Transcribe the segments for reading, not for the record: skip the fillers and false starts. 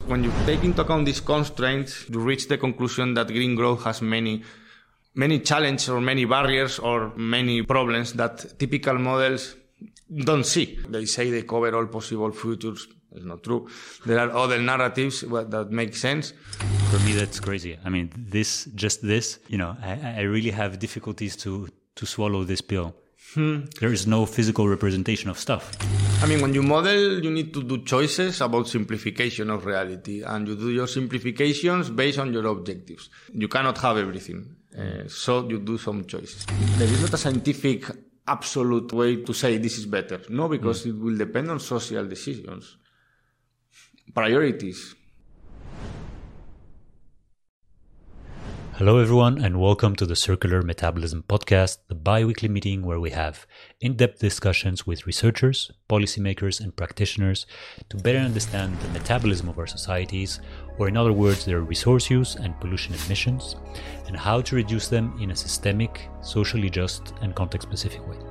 When you take into account these constraints, you reach the conclusion that green growth has many challenges or many barriers or many problems that typical models don't see. They say they cover all possible futures. It's not true. There are other narratives that make sense. For me, that's crazy. I mean, I really have difficulties to swallow this pill. There is no physical representation of stuff. I mean, when you model, you need to do choices about simplification of reality, and you do your simplifications based on your objectives. You cannot have everything, so you do some choices. There is not a scientific absolute way to say this is better. No, because it will depend on social decisions, priorities. Hello everyone and welcome to the Circular Metabolism Podcast, the bi-weekly meeting where we have in-depth discussions with researchers, policymakers and practitioners to better understand the metabolism of our societies, or in other words, their resource use and pollution emissions, and how to reduce them in a systemic, socially just and context-specific way.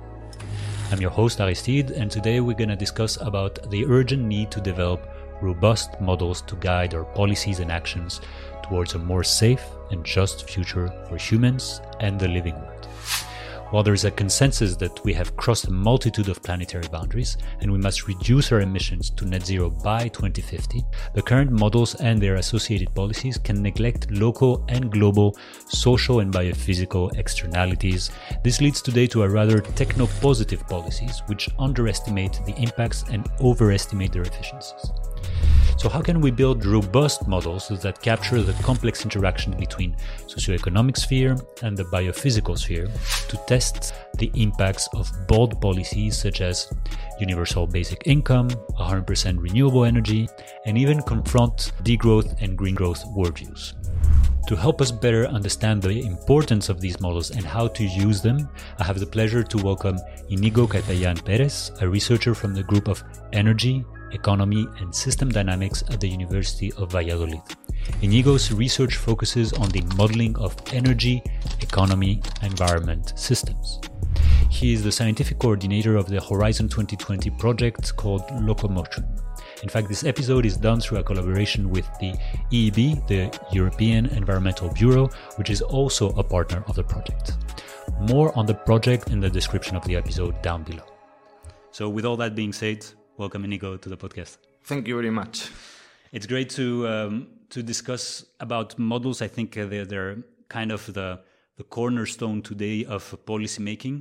I'm your host Aristide, and today we're going to discuss about the urgent need to develop robust models to guide our policies and actions towards a more safe and just future for humans and the living world. While there is a consensus that we have crossed a multitude of planetary boundaries and we must reduce our emissions to net zero by 2050, the current models and their associated policies can neglect local and global social and biophysical externalities. This leads today to a rather techno-positive policies which underestimate the impacts and overestimate their efficiencies. So how can we build robust models that capture the complex interaction between socioeconomic sphere and the biophysical sphere to test the impacts of bold policies such as universal basic income, 100% renewable energy, and even confront degrowth and green growth worldviews? To help us better understand the importance of these models and how to use them, I have the pleasure to welcome Inigo Catayan Perez, a researcher from the group of Energy, Economy and System Dynamics at the University of Valladolid. Inigo's research focuses on the modeling of energy, economy, environment systems. He is the scientific coordinator of the Horizon 2020 project called Locomotion. In fact, this episode is done through a collaboration with the EEB, the European Environmental Bureau, which is also a partner of the project. More on the project in the description of the episode down below. So with all that being said, welcome Inigo to the podcast. Thank you very much. It's great to discuss about models. I think they're kind of the cornerstone today of policy making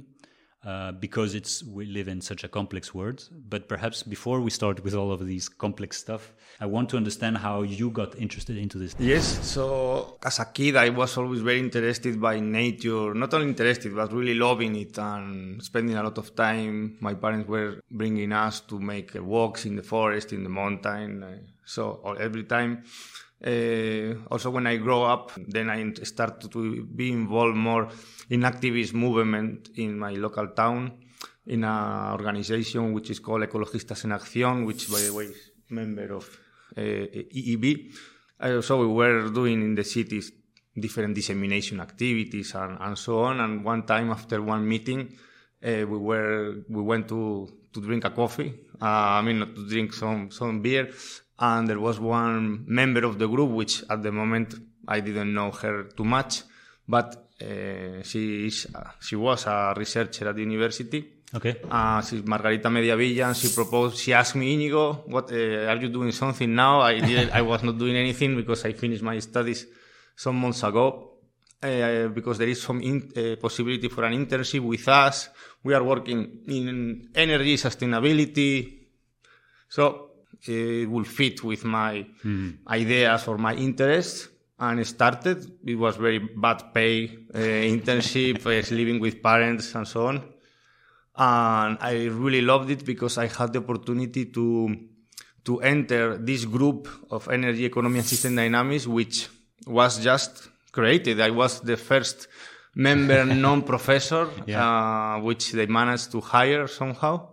because we live in such a complex world. But perhaps before we start with all of these complex stuff, I want to understand how you got interested into this. Yes, so as a kid, I was always very interested by nature, not only interested, but really loving it and spending a lot of time. My parents were bringing us to make walks in the forest, in the mountain. So every time. Also, when I grow up, then I started to be involved more in activist movement in my local town, in an organization which is called Ecologistas en Acción, which, by the way, is a member of EEB. So we were doing in the cities different dissemination activities and so on. And one time after one meeting, we went to drink a coffee. Not to drink some beer. And there was one member of the group, which at the moment I didn't know her too much, but she was a researcher at the university. Okay. She's Margarita Mediavilla, and she asked me, Inigo, what are you doing something now? I was not doing anything because I finished my studies some months ago. Because there is some possibility for an internship with us. We are working in energy sustainability. So it will fit with my ideas or my interests, and started. It was very bad pay internship, living with parents and so on. And I really loved it because I had the opportunity to enter this group of energy, economy and system dynamics, which was just created. I was the first member non-professor, which they managed to hire somehow.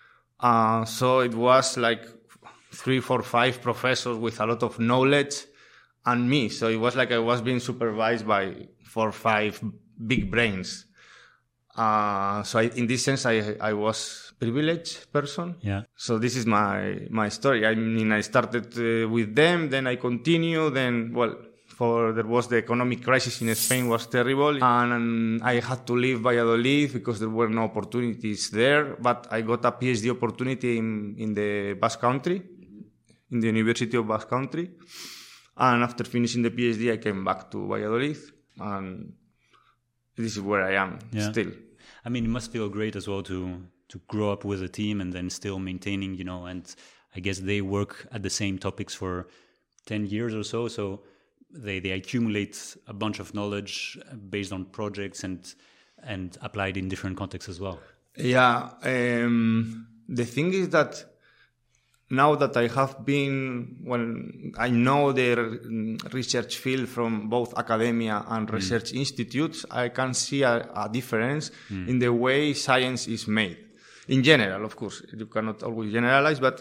So it was like 3, 4, 5 professors with a lot of knowledge and me. So it was like I was being supervised by 4 or 5 big brains. So in this sense, I was privileged person. Yeah. So this is my story. I mean, I started with them, then I continue, then, there was the economic crisis in Spain was terrible, and I had to leave Valladolid because there were no opportunities there, but I got a PhD opportunity in the Basque Country, in the University of Basque Country, and after finishing the PhD, I came back to Valladolid, and this is where I am still. I mean, it must feel great as well to grow up with a team and then still maintaining, and I guess they work at the same topics for 10 years or so. So they accumulate a bunch of knowledge based on projects and applied in different contexts as well. Yeah. The thing is that now that I have been, I know the research field from both academia and research institutes, I can see a difference in the way science is made. In general, of course, you cannot always generalize, but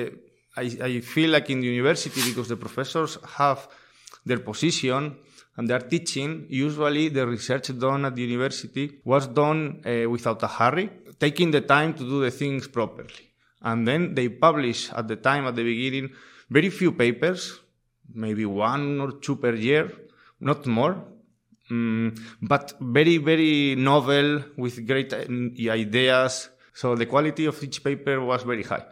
I feel like in the university, because the professors have their position and their teaching, usually the research done at the university was done without a hurry, taking the time to do the things properly. And then they publish at the beginning, very few papers, maybe 1 or 2 per year, not more, but very, very novel with great ideas. So the quality of each paper was very high.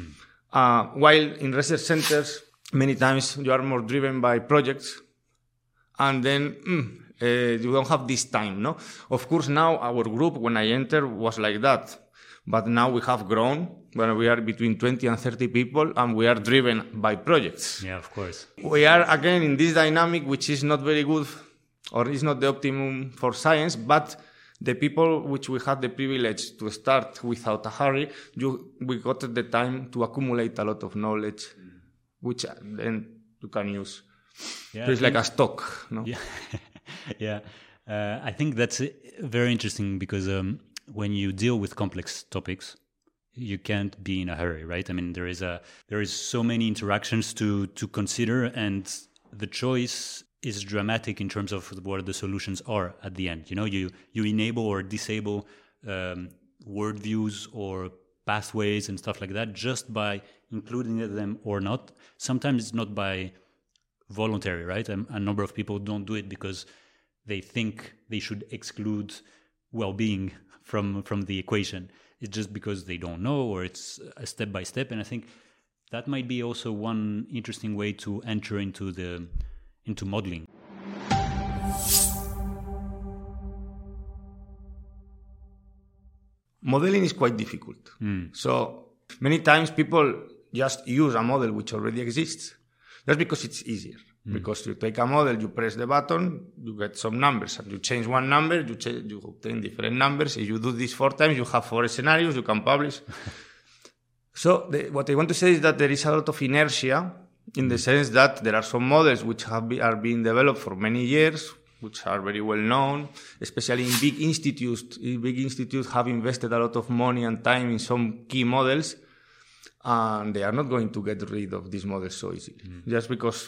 While in research centers, many times you are more driven by projects, and then you don't have this time, no? Of course, now our group, when I entered, was like that. But now we have grown, when we are between 20 and 30 people, and we are driven by projects. Yeah, of course. We are, again, in this dynamic, which is not very good, or is not the optimum for science, but the people which we had the privilege to start without a hurry, we got the time to accumulate a lot of knowledge, which then you can use. Yeah, so it's like a stock, no? Yeah, yeah. I think that's very interesting because when you deal with complex topics, you can't be in a hurry, right? I mean, there is so many interactions to consider, and the choice is dramatic in terms of what the solutions are at the end. You enable or disable worldviews or pathways and stuff like that just by including them or not. Sometimes it's not by voluntary, right? A number of people don't do it because they think they should exclude well-being from the equation. It's just because they don't know, or it's a step by step. And I think that might be also one interesting way to enter into modeling. Modeling is quite difficult. So many times people just use a model which already exists just because it's easier. Because you take a model, you press the button, you get some numbers, and you change one number, you obtain different numbers. If you do this 4 times, you have 4 scenarios, you can publish. So what I want to say is that there is a lot of inertia in the sense that there are some models which are being developed for many years, which are very well known, especially in big institutes. Big institutes have invested a lot of money and time in some key models, and they are not going to get rid of these models so easily, just because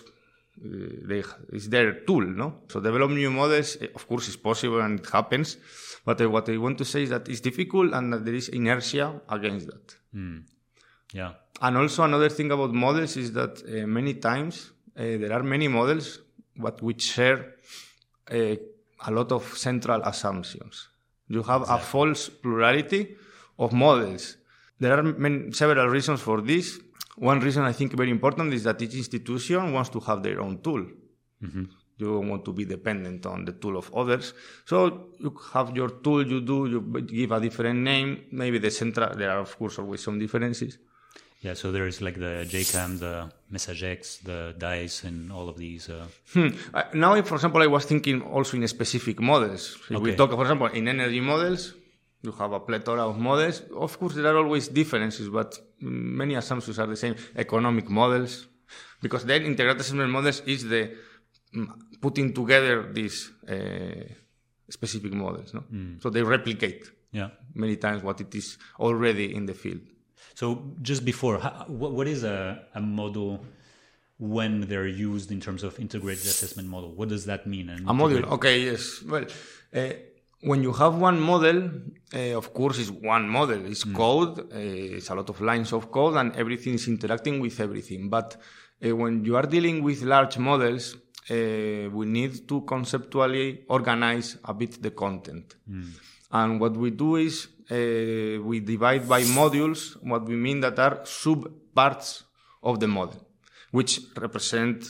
it's their tool, no? So develop new models, of course, is possible and it happens, but what I want to say is that it's difficult and that there is inertia against that. Yeah. And also another thing about models is that many times there are many models which share a lot of central assumptions. You have a false plurality of models. There are several reasons for this. One reason I think very important is that each institution wants to have their own tool. You don't want to be dependent on the tool of others. So you have your tool, you give a different name. Maybe there are of course always some differences. Yeah, so there is like the JCAM, the MessageX, the DICE, and all of these. Now, for example, I was thinking also in specific models. If we talk, for example, in energy models, you have a plethora of models. Of course, there are always differences, but many assumptions are the same. Economic models, because then integrated assessment models is the putting together these specific models. No? So they replicate many times what it is already in the field. So just before, what is a model when they're used in terms of integrated assessment model? What does that mean? A model, okay, yes. Well, when you have one model, of course, it's one model. It's code. It's a lot of lines of code, and everything is interacting with everything. But when you are dealing with large models, we need to conceptually organize a bit the content. And what we do is we divide by modules what we mean that are sub-parts of the model, which represent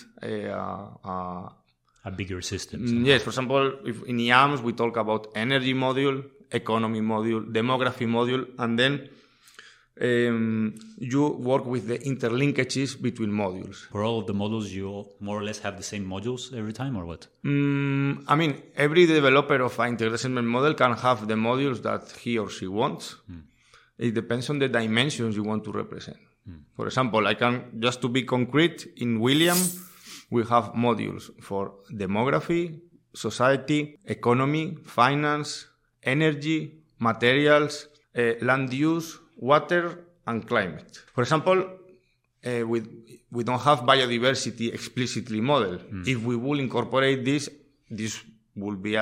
a bigger system. Yes, for example, if in IAMS we talk about energy module, economy module, demography module, and then you work with the interlinkages between modules. For all of the modules, you more or less have the same modules every time, or what? I mean, every developer of an integrated assessment model can have the modules that he or she wants. It depends on the dimensions you want to represent. For example, I can, just to be concrete, in William, we have modules for demography, society, economy, finance, energy, materials, land use, water, and climate. For example, we don't have biodiversity explicitly modeled. If we will incorporate this will be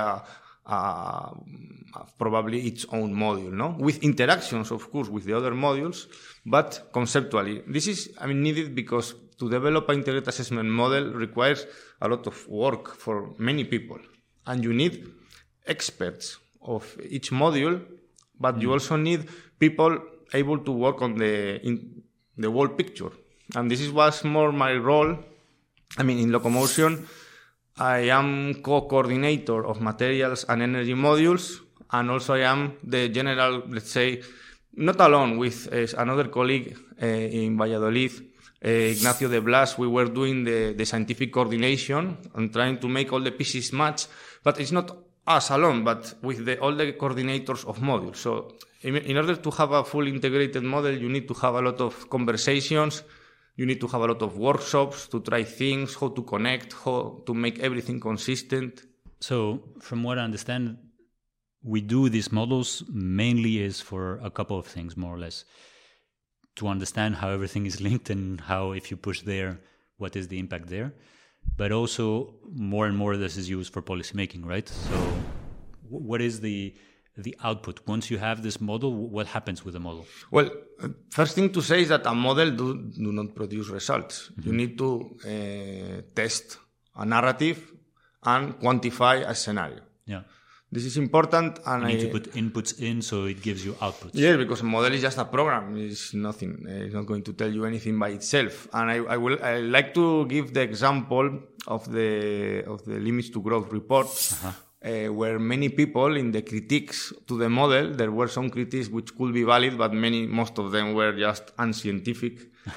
probably its own module, no? With interactions, of course, with the other modules, but conceptually. This is, needed because to develop an integrated assessment model requires a lot of work for many people. And you need experts of each module, but you also need people able to work on the whole picture. And this was more my role. In Locomotion, I am co-coordinator of materials and energy modules, and also I am the general, let's say, not alone, with another colleague in Valladolid, Ignacio de Blas. We were doing the scientific coordination and trying to make all the pieces match, but it's not us alone, but with all the coordinators of modules. So in order to have a fully integrated model, you need to have a lot of conversations. You need to have a lot of workshops to try things, how to connect, how to make everything consistent. So from what I understand, we do these models mainly is for a couple of things, more or less. To understand how everything is linked and how, if you push there, what is the impact there. But also more and more this is used for policymaking, right? So what is the output? Once you have this model, what happens with the model? Well, first thing to say is that a model do not produce results. You need to test a narrative and quantify a scenario. Yeah. This is important. And you need to put inputs in so it gives you outputs. Yeah, because a model is just a program. It's nothing. It's not going to tell you anything by itself. And I like to give the example of the Limits to Growth report. Where many people in the critiques to the model, there were some critiques which could be valid, but most of them were just unscientific.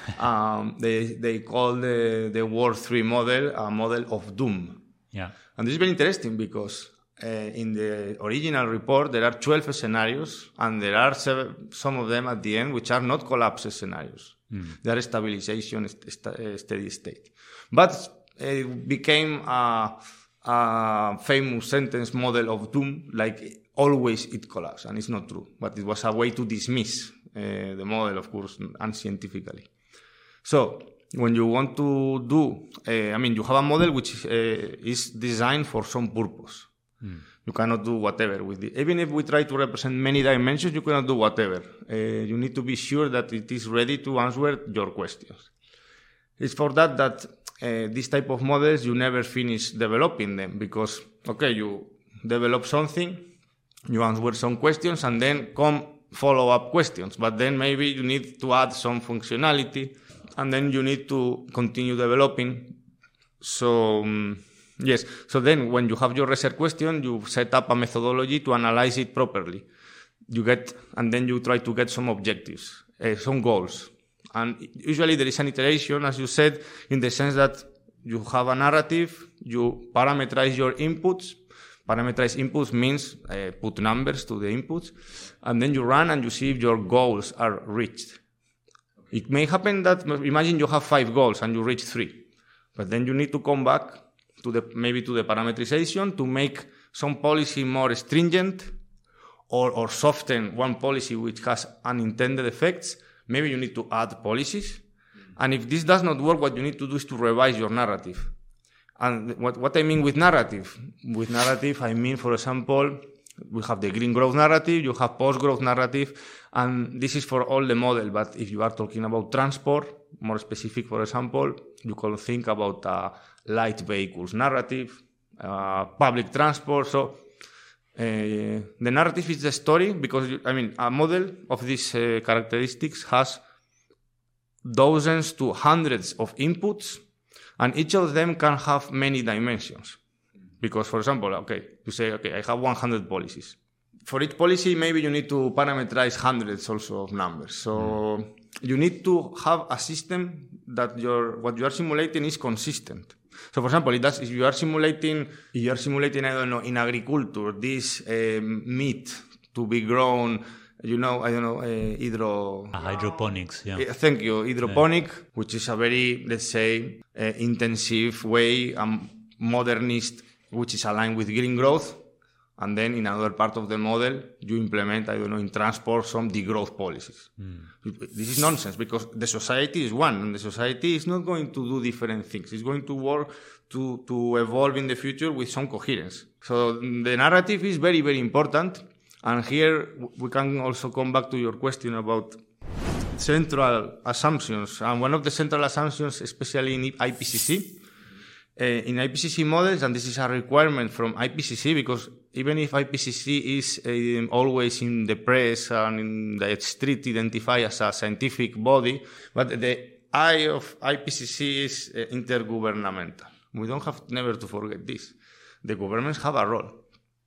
They call the Ward 3 model a model of doom. Yeah. And this is very interesting because in the original report, there are 12 scenarios, and there are some of them at the end which are not collapse scenarios. They are stabilization, steady state. But it became a famous sentence model of doom, like always it collapses, and it's not true. But it was a way to dismiss the model, of course, unscientifically. So when you want to do, you have a model which is designed for some purpose. You cannot do whatever with it. Even if we try to represent many dimensions, you cannot do whatever. You need to be sure that it is ready to answer your questions. It's for that these type of models, you never finish developing them because, you develop something, you answer some questions, and then come follow-up questions. But then maybe you need to add some functionality, and then you need to continue developing. So, yes. So then when you have your research question, you set up a methodology to analyze it properly. And then you try to get some objectives, some goals. And usually there is an iteration, as you said, in the sense that you have a narrative, you parameterize your inputs. Parameterize inputs means put numbers to the inputs, and then you run and you see if your goals are reached. It may happen that, imagine you have 5 goals and you reach 3, but then you need to come back to the parameterization to make some policy more stringent or soften one policy which has unintended effects. Maybe you need to add policies. And if this does not work, what you need to do is to revise your narrative. And what I mean with narrative? With narrative, I mean, for example, We have the green growth narrative, you have post-growth narrative, and this is for all the model. But if you are talking about transport, more specific, for example, you can think about light vehicles narrative, public transport. So the narrative is the story because, a model of these characteristics has dozens to hundreds of inputs, and each of them can have many dimensions. Because, for example, you say, I have 100 policies. For each policy, maybe you need to parameterize hundreds also of numbers. So you need to have a system that what you are simulating is consistent. So, for example, if you are simulating, I don't know, in agriculture, this meat to be grown, hydroponics, yeah. Thank you. Hydroponic, which is a very, let's say, intensive way, modernist, which is aligned with green growth. And then in another part of the model, you implement, in transport, some degrowth policies. This is nonsense because the society is one, and the society is not going to do different things. It's going to work to evolve in the future with some coherence. So the narrative is very, very important. And here we can also come back to your question about central assumptions. And one of the central assumptions, especially in IPCC, in IPCC models, and this is a requirement from IPCC, because even if IPCC is always in the press and in the street identified as a scientific body, but the eye of IPCC is intergovernmental. We don't have never to forget this. The governments have a role.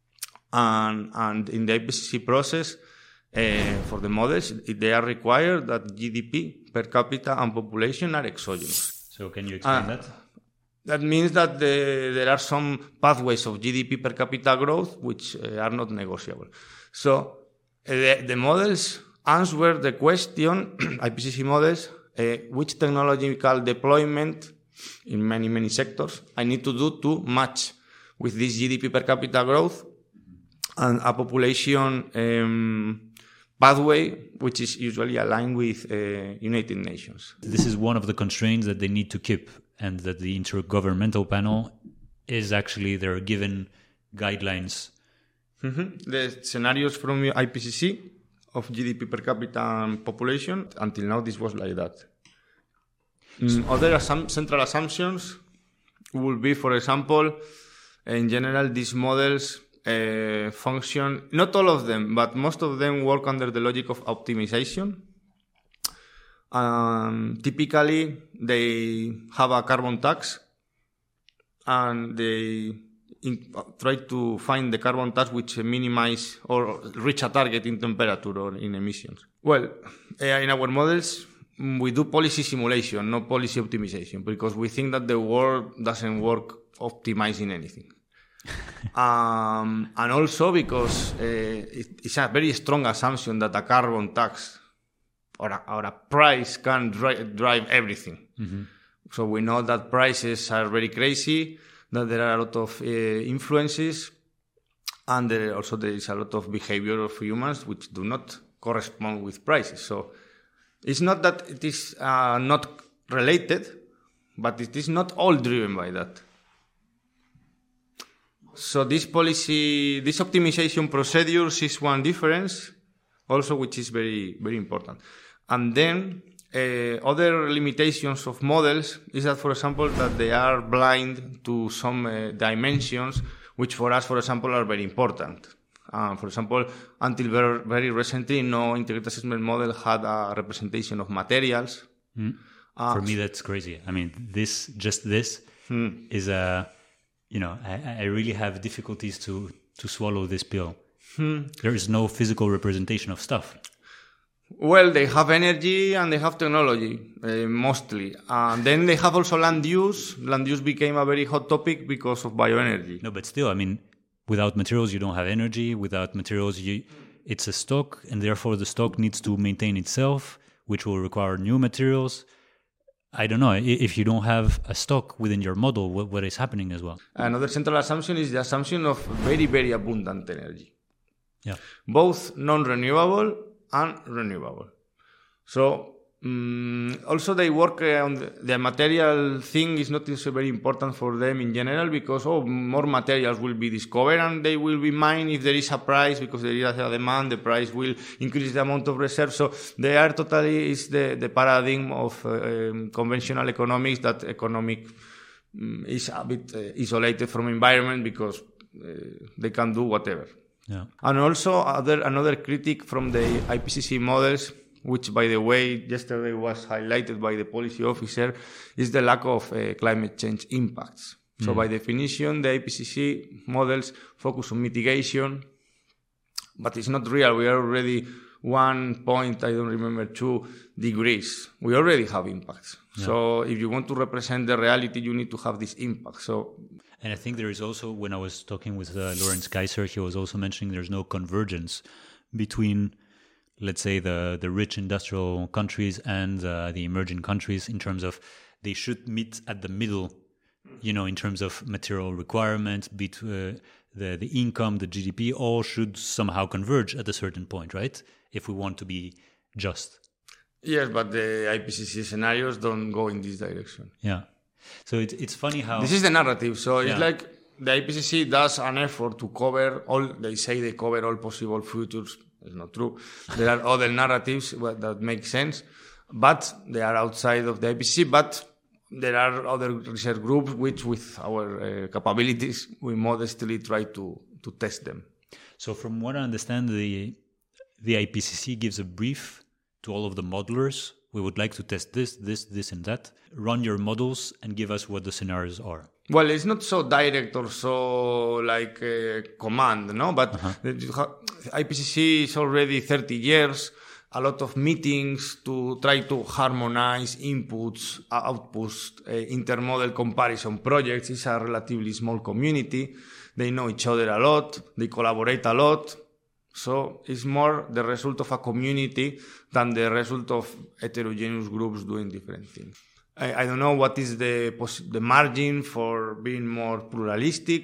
And in the IPCC process, for the models, they are required that GDP per capita and population are exogenous. So can you explain that? That means that there are some pathways of GDP per capita growth which are not negotiable. So the models answer the question, IPCC models, which technological deployment in many, many sectors I need to do to match with this GDP per capita growth and a population pathway which is usually aligned with United Nations. This is one of the constraints that they need to keep, and that the Intergovernmental Panel is actually their given guidelines. The scenarios from IPCC of GDP per capita and population, until now this was like that. Other central assumptions will be, for example, in general, these models function, not all of them, but most of them work under the logic of optimization. Typically, they have a carbon tax, and they try to find the carbon tax which minimize or reach a target in temperature or in emissions. Well, in our models, we do policy simulation, not policy optimization, because we think that the world doesn't work optimizing anything. And also because it's a very strong assumption that a carbon tax or a price can drive everything. So we know that prices are very crazy, that there are a lot of influences, and there is a lot of behavior of humans which do not correspond with prices. So it's not that it is not related, but it is not all driven by that. So this optimization procedures is one difference, also, which is very, very important. And then other limitations of models is that, for example, that they are blind to some dimensions, which for us, for example, are very important. For example, until very recently, no integrated assessment model had a representation of materials. For me, that's crazy. I mean, this is a... I really have difficulties to swallow this pill. There is no physical representation of stuff. Well, they have energy and they have technology, mostly. And then they have also land use. Land use became a very hot topic because of bioenergy. No, but still, I mean, without materials, you don't have energy. Without materials, it's a stock, and therefore the stock needs to maintain itself, which will require new materials. I don't know, if you don't have a stock within your model, what is happening as well? Another central assumption is the assumption of very, very abundant energy. Yeah. Both non-renewable and renewable. So Also, they work on the material thing is not so very important for them in general because more materials will be discovered and they will be mined if there is a price because there is a demand. The price will increase the amount of reserves. So they are totally is the paradigm of conventional economics that economic is a bit isolated from environment because they can do whatever. Yeah. And also another critic from the IPCC models, which, by the way, yesterday was highlighted by the policy officer, is the lack of climate change impacts. So by definition, the IPCC models focus on mitigation, but it's not real. We are already 2 degrees. We already have impacts. Yeah. So if you want to represent the reality, you need to have this impact. And I think there is also, when I was talking with Lorenz Kaiser, he was also mentioning there's no convergence between, let's say, the rich industrial countries and the emerging countries in terms of they should meet at the middle, in terms of material requirements, the income, the GDP, all should somehow converge at a certain point, right? If we want to be just. Yes, but the IPCC scenarios don't go in this direction. Yeah. So it's funny how... This is the narrative. So it's like the IPCC does an effort to cover they say they cover all possible futures. It's not true. There are other narratives that make sense, but they are outside of the IPCC. But there are other research groups which, with our capabilities, we modestly try to test them. So from what I understand, the IPCC gives a brief to all of the modelers. We would like to test this, and that. Run your models and give us what the scenarios are. Well, it's not so direct or so like command, no? But IPCC is already 30 years, a lot of meetings to try to harmonize inputs, outputs, intermodal comparison projects. It's a relatively small community. They know each other a lot. They collaborate a lot. So it's more the result of a community than the result of heterogeneous groups doing different things. I don't know what is the margin for being more pluralistic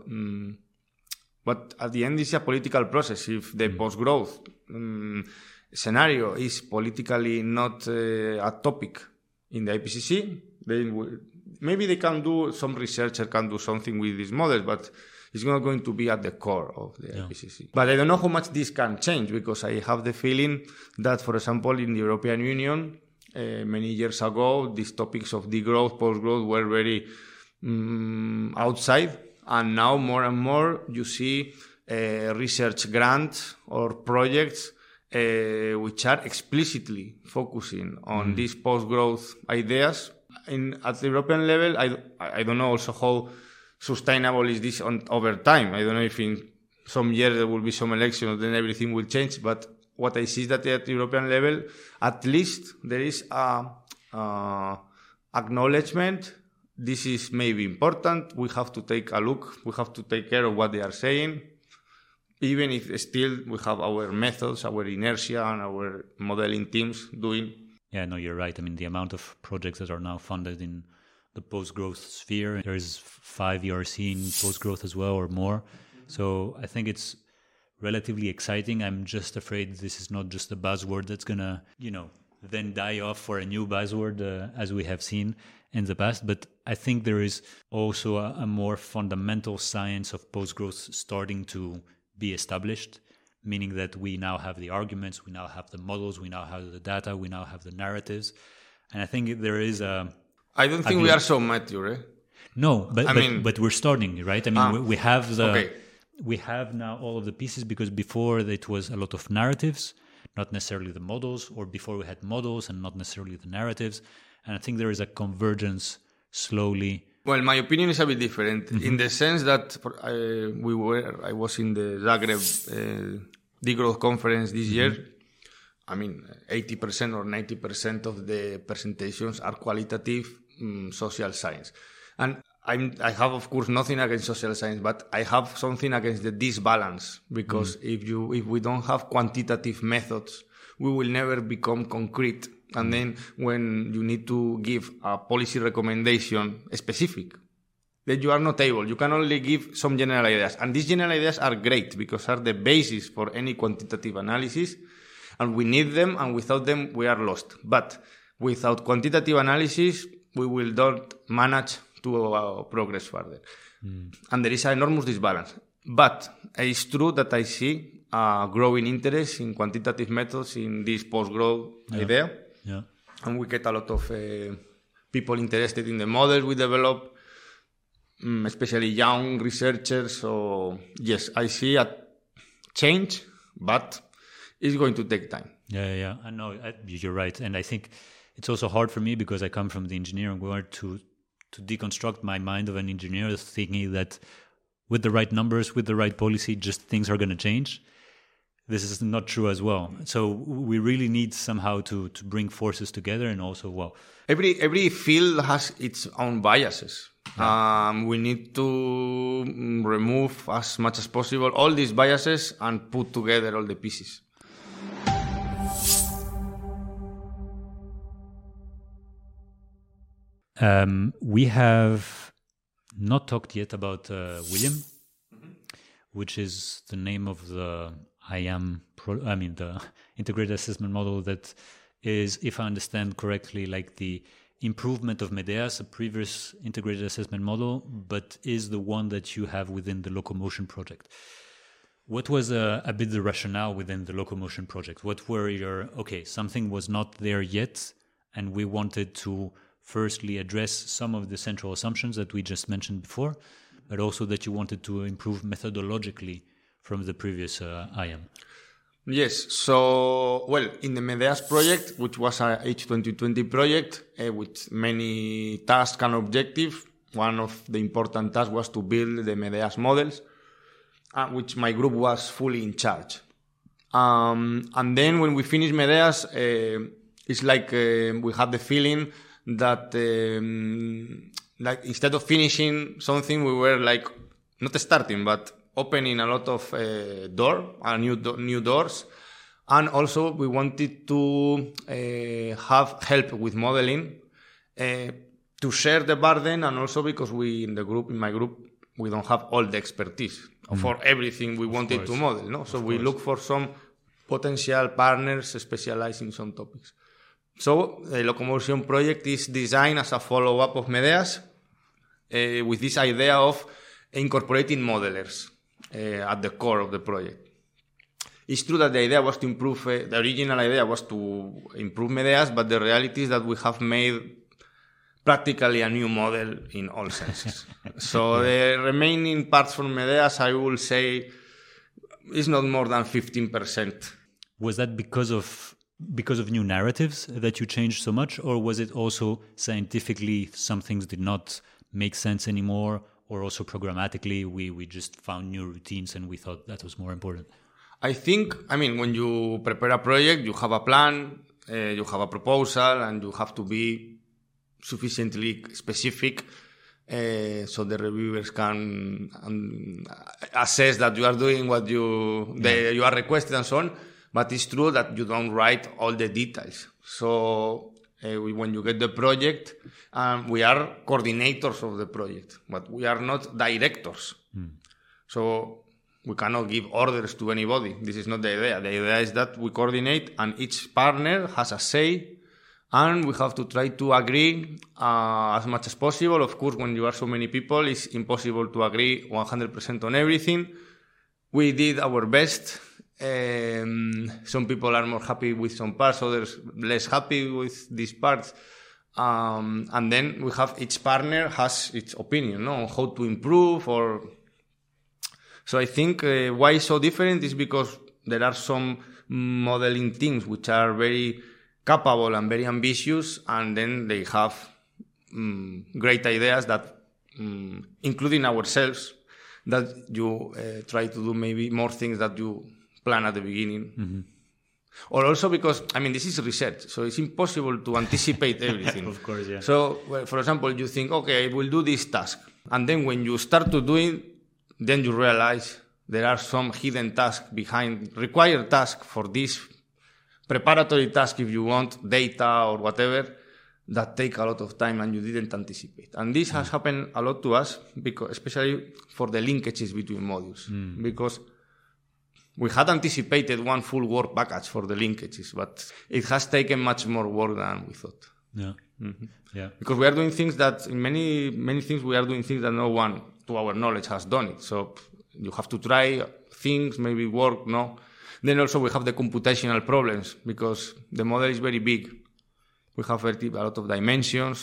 but at the end it's a political process. If the post-growth scenario is politically not a topic in the IPCC, maybe they can do, some researcher can do something with these models, but it's not going to be at the core of the IPCC. But I don't know how much this can change because I have the feeling that, for example, in the European Union, many years ago, these topics of degrowth, post-growth were very outside. And now more and more you see research grants or projects which are explicitly focusing on these post-growth ideas. At the European level, I don't know also how sustainable is this over time. I don't know if in some years there will be some elections, then everything will change. But what I see is that at the European level, at least there is a acknowledgement. This is maybe important. We have to take a look. We have to take care of what they are saying. Even if still we have our methods, our inertia, and our modeling teams doing. Yeah, no, you're right. I mean, the amount of projects that are now funded in the post-growth sphere, there is 5 ERC in post-growth as well or more. So I think it's relatively exciting. I'm just afraid this is not just a buzzword that's going to, then die off for a new buzzword as we have seen in the past. But I think there is also a more fundamental science of post-growth starting to be established, meaning that we now have the arguments, we now have the models, we now have the data, we now have the narratives. And I think there is I don't think we are so mature, eh? No, but we're starting, right? I mean, we have we have now all of the pieces, because before it was a lot of narratives, not necessarily the models, or before we had models and not necessarily the narratives. And I think there is a convergence slowly. Well, my opinion is a bit different in the sense that I was in the Zagreb degrowth conference this year. I mean, 80% or 90% of the presentations are qualitative social science. And I have, of course, nothing against social science, but I have something against the disbalance, because if we don't have quantitative methods, we will never become concrete. And then when you need to give a policy recommendation specific, then you are not able. You can only give some general ideas. And these general ideas are great because are the basis for any quantitative analysis. and we need them, and without them, we are lost. But without quantitative analysis, we will not manage to progress further. And there is an enormous disbalance. But it's true that I see a growing interest in quantitative methods in this post-growth idea. Yeah. And we get a lot of people interested in the models we develop, especially young researchers. So, yes, I see a change, but it's going to take time. Yeah. I know you're right. And I think it's also hard for me because I come from the engineering world to deconstruct my mind of an engineer thinking that with the right numbers, with the right policy, just things are going to change. This is not true as well. So we really need somehow to bring forces together and also, every field has its own biases. Yeah. We need to remove as much as possible all these biases and put together all the pieces. We have not talked yet about William, which is the name of the the integrated assessment model that is, if I understand correctly, like the improvement of Medeas, a previous integrated assessment model, but is the one that you have within the Locomotion project. What was a bit the rationale within the Locomotion project? What were something was not there yet, and we wanted to firstly address some of the central assumptions that we just mentioned before, but also that you wanted to improve methodologically from the previous IAM. Yes. So, in the Medeas project, which was a H2020 project with many tasks and objectives, one of the important tasks was to build the Medeas models, which my group was fully in charge. And then when we finished Medeas, it's like we had the feeling that like instead of finishing something, we were like not starting, but opening a lot of new doors. And also we wanted to have help with modeling, to share the burden, and also because in my group, we don't have all the expertise for everything we wanted to model. No? So we look for some potential partners specialized in some topics. So the Locomotion project is designed as a follow-up of Medeas with this idea of incorporating modelers at the core of the project. It's true that the idea was to improve, the original idea was to improve Medeas, but the reality is that we have made practically a new model in all senses. So the remaining parts from Medeas, I will say, is not more than 15%. Was that because of new narratives that you changed so much, or was it also scientifically some things did not make sense anymore, or also programmatically we just found new routines and we thought that was more important? I think, when you prepare a project, you have a plan, you have a proposal, and you have to be sufficiently specific so the reviewers can assess that you are doing what you are requested and so on. But it's true that you don't write all the details. So when you get the project, we are coordinators of the project, but we are not directors. So we cannot give orders to anybody. This is not the idea. The idea is that we coordinate and each partner has a say, and we have to try to agree as much as possible. Of course, when you are so many people, it's impossible to agree 100% on everything. We did our best. Some people are more happy with some parts, others less happy with these parts. And then we have each partner has its opinion on how to improve. So I think why it's so different is because there are some modeling teams which are very capable and very ambitious, and then they have great ideas that, including ourselves, that you try to do maybe more things that you plan at the beginning. Mm-hmm. Or also because, this is research, so it's impossible to anticipate everything. Of course, yeah. So, for example, you think, okay, I will do this task. And then when you start to do it, then you realize there are some hidden tasks behind, required tasks for this preparatory task, if you want, data or whatever, that take a lot of time and you didn't anticipate. And this has happened a lot to us, because especially for the linkages between modules. Because we had anticipated one full work package for the linkages, but it has taken much more work than we thought. Yeah. Mm-hmm. Yeah. Because we are doing things that, in many things, we are doing things that no one, to our knowledge, has done it. So you have to try things, maybe work, no? Then also we have the computational problems, because the model is very big. We have a lot of dimensions.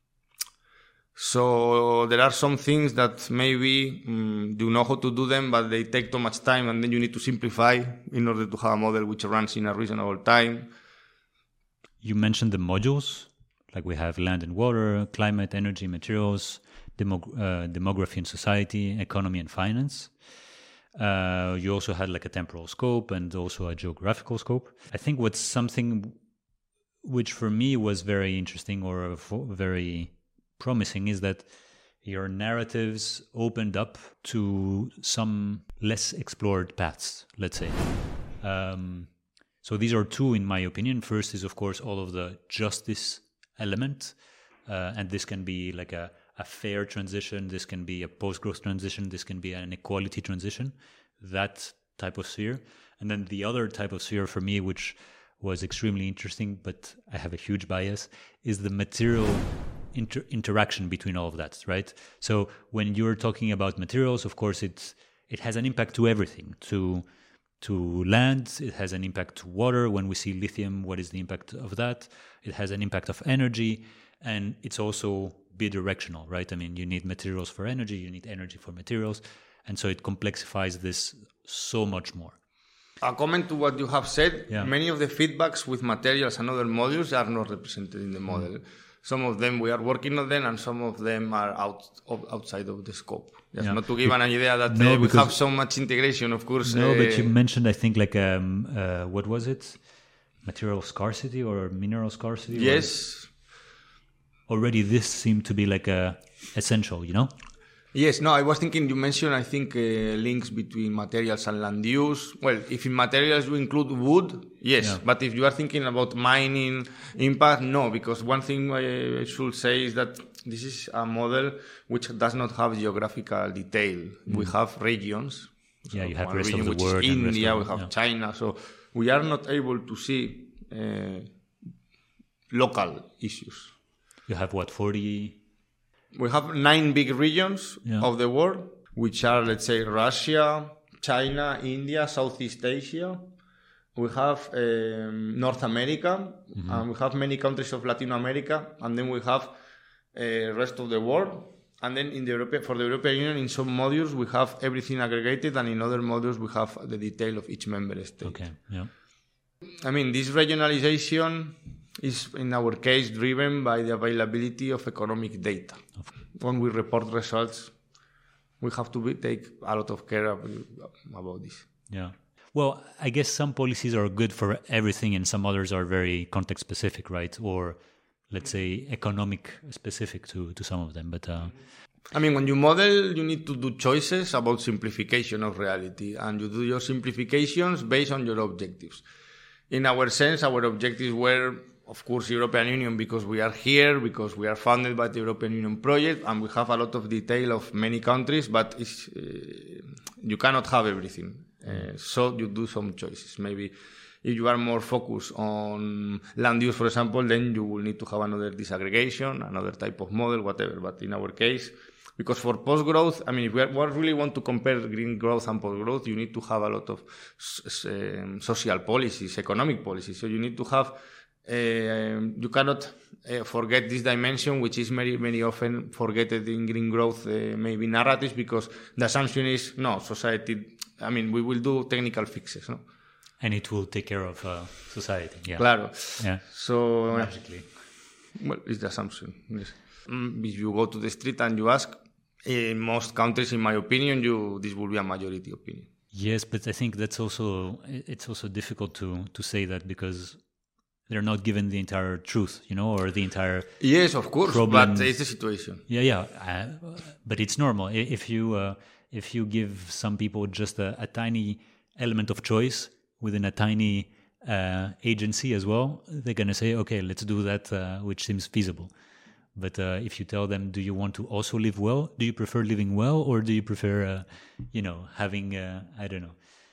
So there are some things that maybe you know how to do them, but they take too much time, and then you need to simplify in order to have a model which runs in a reasonable time. You mentioned the modules, like we have land and water, climate, energy, materials, demography and society, economy and finance. You also had like a temporal scope and also a geographical scope. I think what's something which for me was very interesting or very promising is that your narratives opened up to some less explored paths, let's say. So these are two, in my opinion. First is, of course, all of the justice element. And this can be like a fair transition. This can be a post-growth transition. This can be an equality transition, that type of sphere. And then the other type of sphere for me, which was extremely interesting, but I have a huge bias, is the material interaction between all of that, right? So when you're talking about materials, of course, it has an impact to everything, to land, it has an impact to water. When we see lithium, what is the impact of that? It has an impact of energy, and it's also bidirectional, right? I mean, you need materials for energy, you need energy for materials, and so it complexifies this so much more. A comment to what you have said, many of the feedbacks with materials and other modules are not represented in the model. Some of them we are working on them, and some of them are outside of the scope. Just not to give an idea that we have so much integration, of course. No, but you mentioned, I think, like, what was it? Material scarcity or mineral scarcity? Yes. Already this seemed to be like essential, you know? Yes, no, I was thinking, you mentioned, I think, links between materials and land use. Well, if in materials you include wood, yes. But if you are thinking about mining impact, no, because one thing I should say is that this is a model which does not have geographical detail. We have regions. Yeah, so you have rest of the which world. is India, we have China. So we are not able to see local issues. You have what, 40... We have 9 big regions of the world, which are, let's say, Russia, China, India, Southeast Asia. We have North America, and we have many countries of Latin America, and then we have rest of the world. And then for the European Union, in some modules, we have everything aggregated, and in other modules, we have the detail of each member state. Okay, yeah. I mean, this regionalization is, in our case, driven by the availability of economic data. When we report results, we have to take a lot of care about this. Yeah. Well, I guess some policies are good for everything and some others are very context specific, right? Or, let's say, economic specific to some of them. But I mean, when you model, you need to do choices about simplification of reality, and you do your simplifications based on your objectives. In our sense, our objectives were, of course, European Union, because we are here, because we are funded by the European Union project, and we have a lot of detail of many countries, but you cannot have everything. So you do some choices. Maybe if you are more focused on land use, for example, then you will need to have another disaggregation, another type of model, whatever. But in our case, because for post-growth, I mean, if we really want to compare green growth and post-growth, you need to have a lot of social policies, economic policies. So you need to have you cannot forget this dimension, which is very often forgotten in green growth, maybe narratives, because the assumption is, no, society, I mean, we will do technical fixes, no? And it will take care of society. Yeah. Claro. Yeah. So, magically. Well, it's the assumption. Yes. If you go to the street and you ask, in most countries, in my opinion, this will be a majority opinion. Yes, but I think it's also difficult to say that, because they're not given the entire truth, you know, or the entire yes, of course, problems. But it's the situation. Yeah, but it's normal. If you give some people just a tiny element of choice within a tiny agency as well, they're gonna say, okay, let's do that, which seems feasible. But if you tell them, do you want to also live well? Do you prefer living well, or do you prefer, having I don't know,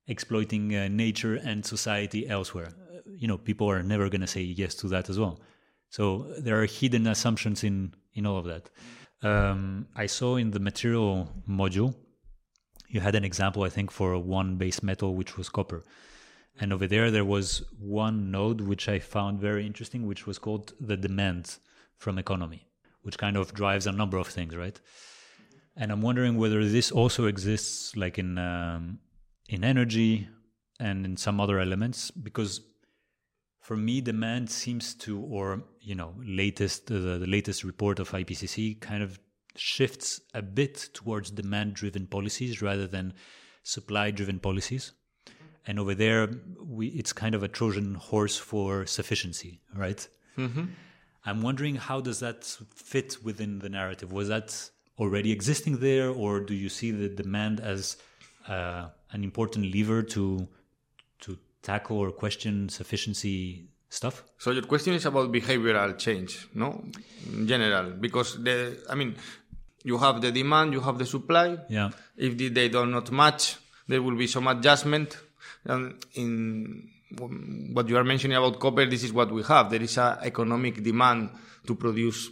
exploiting nature and society elsewhere. People are never going to say yes to that as well. So there are hidden assumptions in all of that. I saw in the material module, you had an example, I think, for one base metal, which was copper. And over there was one node which I found very interesting, which was called the demand from economy, which kind of drives a number of things, right? And I'm wondering whether this also exists like in energy and in some other elements, because for me, demand seems to, or the latest report of IPCC kind of shifts a bit towards demand-driven policies rather than supply-driven policies. And over there, it's kind of a Trojan horse for sufficiency, right? Mm-hmm. I'm wondering, how does that fit within the narrative? Was that already existing there, or do you see the demand as an important lever to tackle or question sufficiency stuff? So your question is about behavioral change, no? In general, because you have the demand, you have the supply. Yeah. If they do not match, there will be some adjustment. And in what you are mentioning about copper, this is what we have. There is an economic demand to produce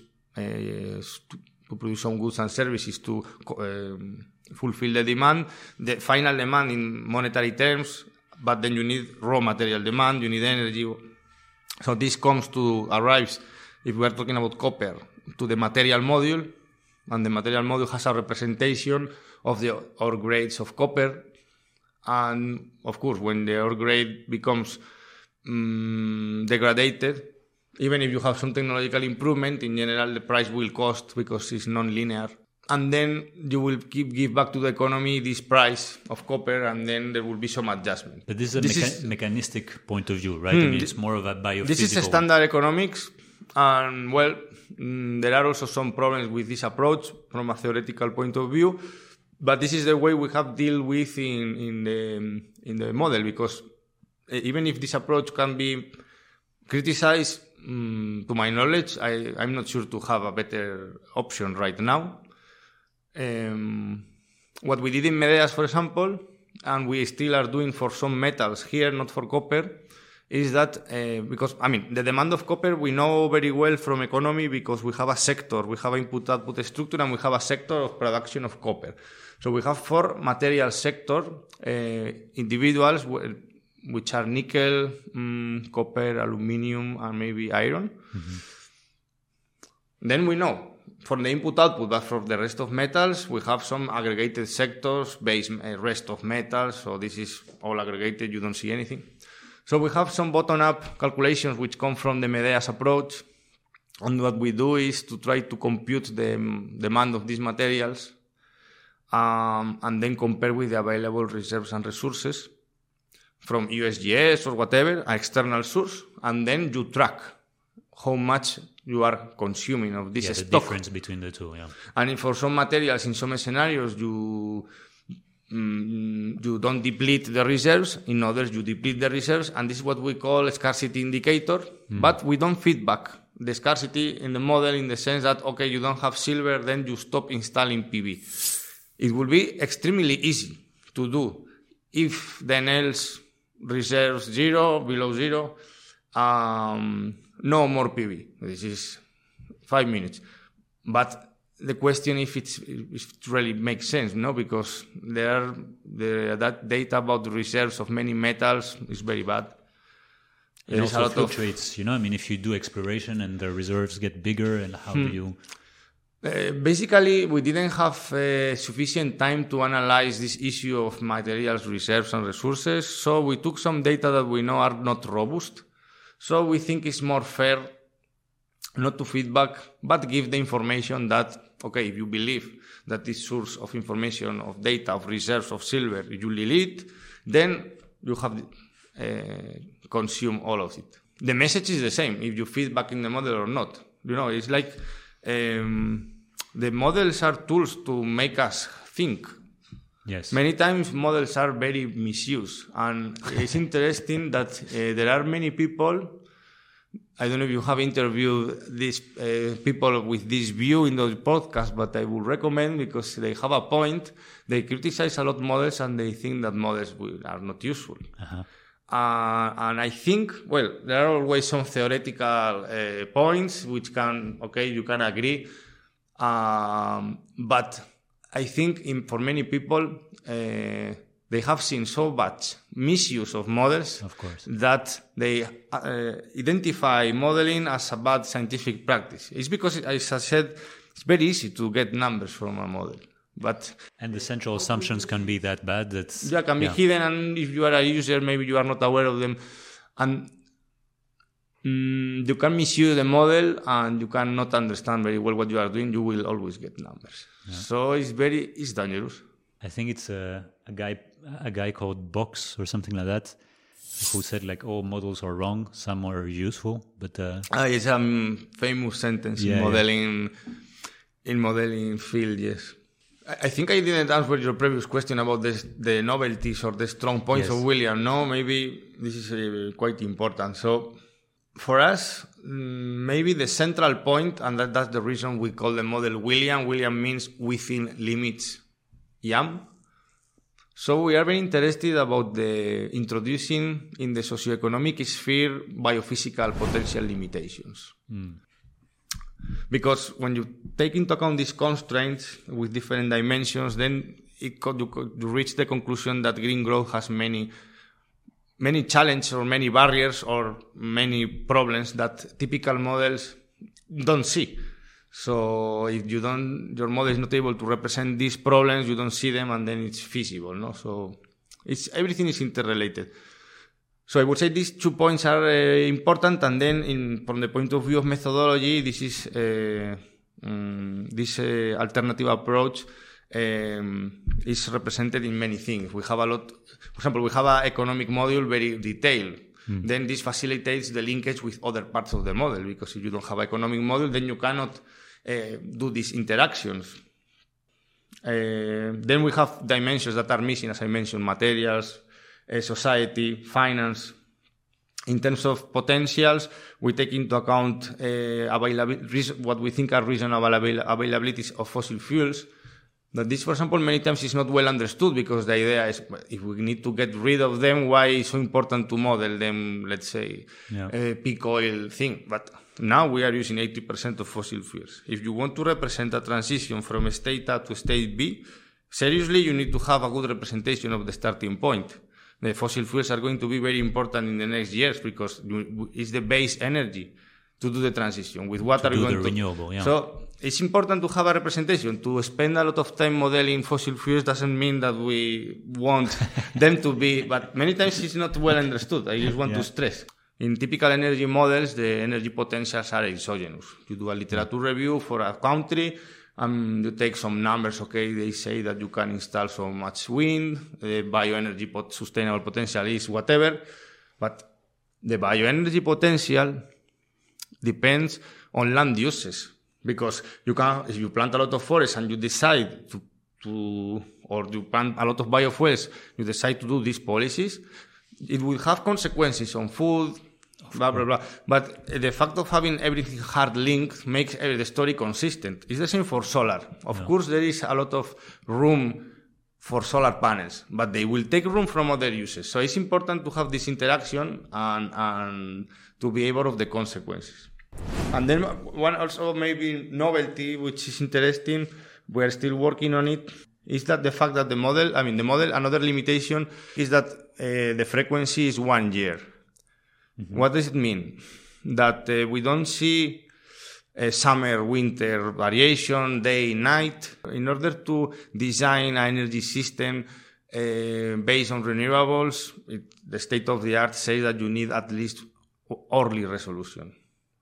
some goods and services to fulfill the demand, the final demand in monetary terms, but then you need raw material demand, you need energy. So this arrives, if we are talking about copper, to the material module, and the material module has a representation of the ore grades of copper. And of course, when the ore grade becomes degraded, even if you have some technological improvement, in general the price will cost because it's non-linear. And then you will give back to the economy this price of copper, and then there will be some adjustment. But this is a mechanistic point of view, right? It's more of a biophysical... This is a standard economics, and there are also some problems with this approach from a theoretical point of view. But this is the way we have dealt with in the model, because even if this approach can be criticized, to my knowledge, I'm not sure to have a better option right now. What we did in Medeas, for example, and we still are doing for some metals here, not for copper, is that because the demand of copper we know very well from economy, because we have a sector, we have input-output structure, and we have a sector of production of copper. So we have 4 material sector individuals, which are nickel, copper, aluminium, and maybe iron. Mm-hmm. Then we know for the input-output, but for the rest of metals, we have some aggregated sectors, rest of metals, so this is all aggregated, you don't see anything. So we have some bottom-up calculations which come from the Medeas approach, and what we do is to try to compute the demand of these materials, and then compare with the available reserves and resources from USGS or whatever, an external source, and then you track how much you are consuming of this stock. The difference between the two, yeah. And for some materials, in some scenarios, you don't deplete the reserves. In others, you deplete the reserves, and this is what we call a scarcity indicator. But we don't feedback the scarcity in the model in the sense that, okay, you don't have silver, then you stop installing PV. It will be extremely easy to do if the NL's reserves below zero, no more PV. This is 5 minutes. But the question if it really makes sense, no? Because that data about the reserves of many metals is very bad. It also fluctuates, if you do exploration and the reserves get bigger, and how do you... Basically, we didn't have sufficient time to analyze this issue of materials, reserves, and resources. So we took some data that we know are not robust. So we think it's more fair not to feedback, but give the information that, okay, if you believe that this source of information, of data, of reserves, of silver, you delete, then you have consume all of it. The message is the same, if you feedback in the model or not. It's like... the models are tools to make us think. Yes. Many times models are very misused, and it's interesting that there are many people I don't know if you have interviewed these people with this view in those podcasts, but I would recommend because they have a point. They criticize a lot models and they think that models are not useful. Uh-huh. And I think, well, there are always some theoretical points which you can agree. But I think for many people, they have seen so much misuse of models, of course, that they identify modeling as a bad scientific practice. It's because, as I said, it's very easy to get numbers from a model. And the central assumptions can be that bad that can be hidden, and if you are a user, maybe you are not aware of them. And you can misuse the model and you cannot understand very well what you are doing. You will always get numbers. Yeah. So it's dangerous. I think it's a guy called Box or something like that, who said like all models are wrong, some are useful, but it's a famous sentence in modeling field. Yes, I think I didn't answer your previous question about the novelties or the strong points of William. No, maybe this is quite important. So for us, maybe the central point, and that's the reason we call the model William. William means within limits. So we are very interested about the introducing in the socioeconomic sphere biophysical potential limitations. Because when you take into account these constraints with different dimensions, then you reach the conclusion that green growth has many challenges or many barriers or many problems that typical models don't see. So if your model is not able to represent these problems, you don't see them, and then it's feasible, no? So everything is interrelated. So I would say these 2 points are important, and then from the point of view of methodology, this is this alternative approach is represented in many things. We have a lot. For example, we have an economic module very detailed. Then this facilitates the linkage with other parts of the model, because if you don't have an economic model, then you cannot do these interactions. Then we have dimensions that are missing, as I mentioned: materials, society, finance. In terms of potentials, we take into account what we think are reasonable availabilities of fossil fuels. But this, for example, many times is not well understood, because the idea is, if we need to get rid of them, why is it so important to model them, let's say, peak oil thing? But now we are using 80% of fossil fuels. If you want to represent a transition from state A to state B, seriously, you need to have a good representation of the starting point. The fossil fuels are going to be very important in the next years, because it's the base energy to do the transition. With what are we going to do? Renewable, So it's important to have a representation. To spend a lot of time modeling fossil fuels doesn't mean that we want them to be, but many times it's not well understood. I just want to stress. In typical energy models, the energy potentials are exogenous. You do a literature review for a country, you take some numbers, they say that you can install so much wind, the bioenergy sustainable potential is whatever, but the bioenergy potential depends on land uses. Because if you plant a lot of forests and you decide or you plant a lot of biofuels, you decide to do these policies, it will have consequences on food, blah, blah, blah. But the fact of having everything hard linked makes the story consistent. It's the same for solar. Of course, there is a lot of room for solar panels, but they will take room from other uses. So it's important to have this interaction and to be aware of the consequences. And then one also maybe novelty, which is interesting, we're still working on it, is that the fact that the model, another limitation is that the frequency is 1 year. Mm-hmm. What does it mean? That we don't see summer, winter variation, day, night. In order to design an energy system based on renewables, the state of the art says that you need at least hourly resolution.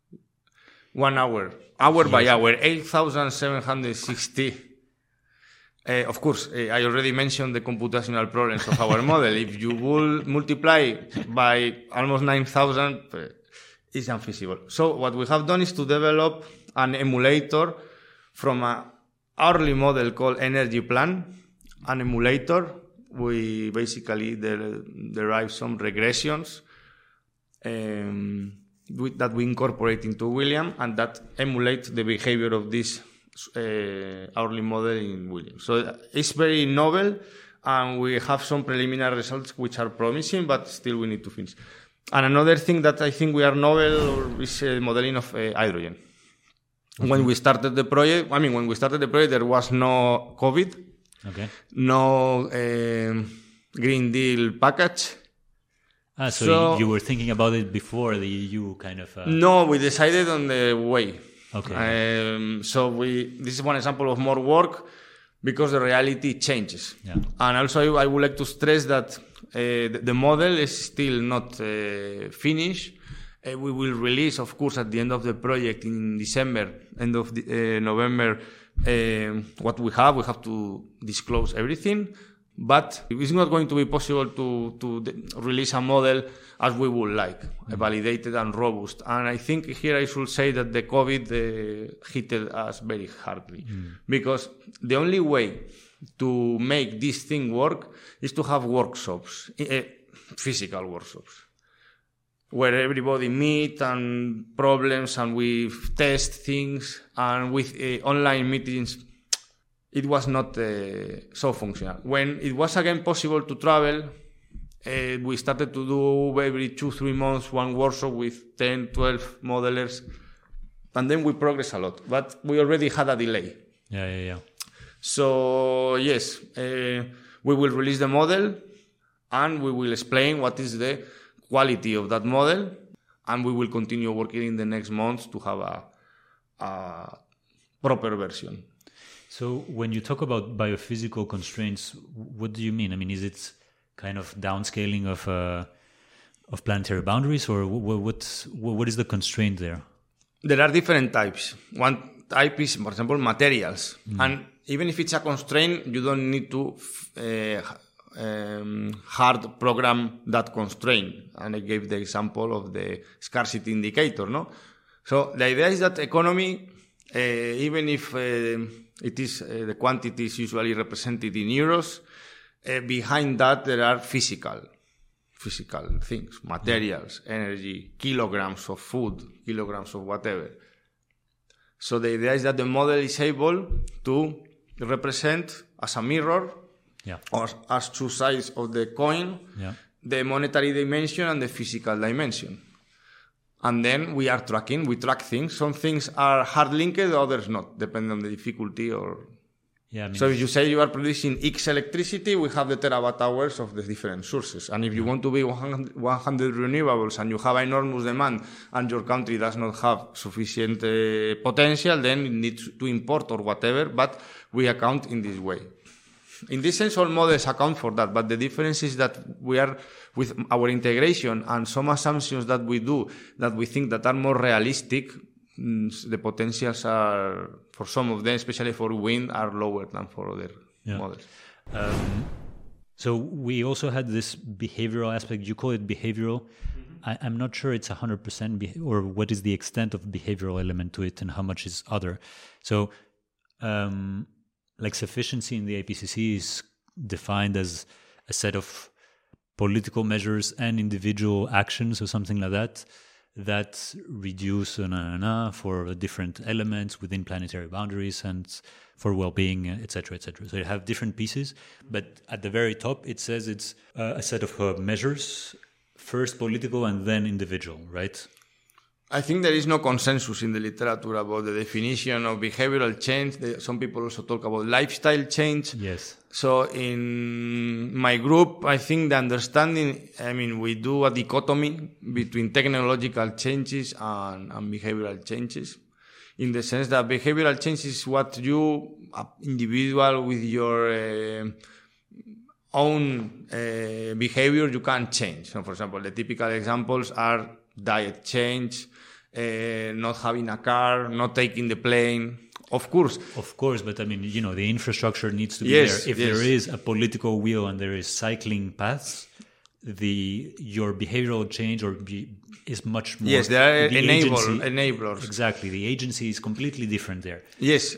1 hour, by hour, 8,760. Of course, I already mentioned the computational problems of our model. If you will multiply by almost 9,000, it's unfeasible. So what we have done is to develop an emulator from an hourly model called Energy Plan. An emulator, we basically derive some regressions. that we incorporate into William and that emulate the behavior of this hourly model in William. So it's very novel, and we have some preliminary results which are promising, but still we need to finish. And another thing that I think we are novel is modeling of hydrogen. Mm-hmm. When we started the project, there was no COVID, no Green Deal package. So you were thinking about it before the EU kind of... No, we decided on the way. Okay. This is one example of more work because the reality changes. Yeah. And also I would like to stress that the model is still not finished. We will release, of course, at the end of the project in December, end of November, what we have. We have to disclose everything. But it's not going to be possible to release a model as we would like, validated and robust. And I think here I should say that the COVID hit us very hardly. Because the only way to make this thing work is to have workshops, physical workshops, where everybody meet and problems and we test things, and with online meetings it was not so functional. When it was again possible to travel, we started to do every 2-3 months one workshop with 10-12 modelers, and then we progressed a lot, but we already had a delay. Yeah. So yes, we will release the model and we will explain what is the quality of that model, and we will continue working in the next months to have a proper version. So when you talk about biophysical constraints, what do you mean? I mean, is it kind of downscaling of planetary boundaries, or what is the constraint there? There are different types. One type is, for example, materials. And even if it's a constraint, you don't need to hard program that constraint. And I gave the example of the scarcity indicator, no? So the idea is that economy, even if it is the quantity is usually represented in euros, behind that there are physical things, materials, energy, kilograms of food, kilograms of whatever. So the idea is that the model is able to represent as a mirror, or as two sides of the coin, the monetary dimension and the physical dimension. And then we track things. Some things are hard linked, others not, depending on the difficulty or... So if you say you are producing X electricity, we have the terawatt hours of the different sources. And if you want to be 100 renewables and you have enormous demand and your country does not have sufficient potential, then you need to import or whatever, but we account in this way. In this sense, all models account for that, but the difference is that we are, with our integration and some assumptions that we do, that we think that are more realistic, the potentials are, for some of them, especially for wind, are lower than for other models. So we also had this behavioral aspect. You call it behavioral. I'm not sure it's 100% or what is the extent of behavioral element to it and how much is other. So like sufficiency in the IPCC is defined as a set of political measures and individual actions or something like that reduce for different elements within planetary boundaries and for well-being, etc., etc. So you have different pieces, but at the very top it says it's a set of measures, first political and then individual, right? I think there is no consensus in the literature about the definition of behavioral change. Some people also talk about lifestyle change. Yes. So in my group, I think the understanding, we do a dichotomy between technological changes and behavioral changes, in the sense that behavioral change is what you, individual with your own behavior, you can change. So for example, the typical examples are diet change, not having a car, not taking the plane. Of course, but the infrastructure needs to be there. If there is a political will and there is cycling paths, your behavioral change is much more. Yes, there are enablers. Exactly, the agency is completely different there. Yes,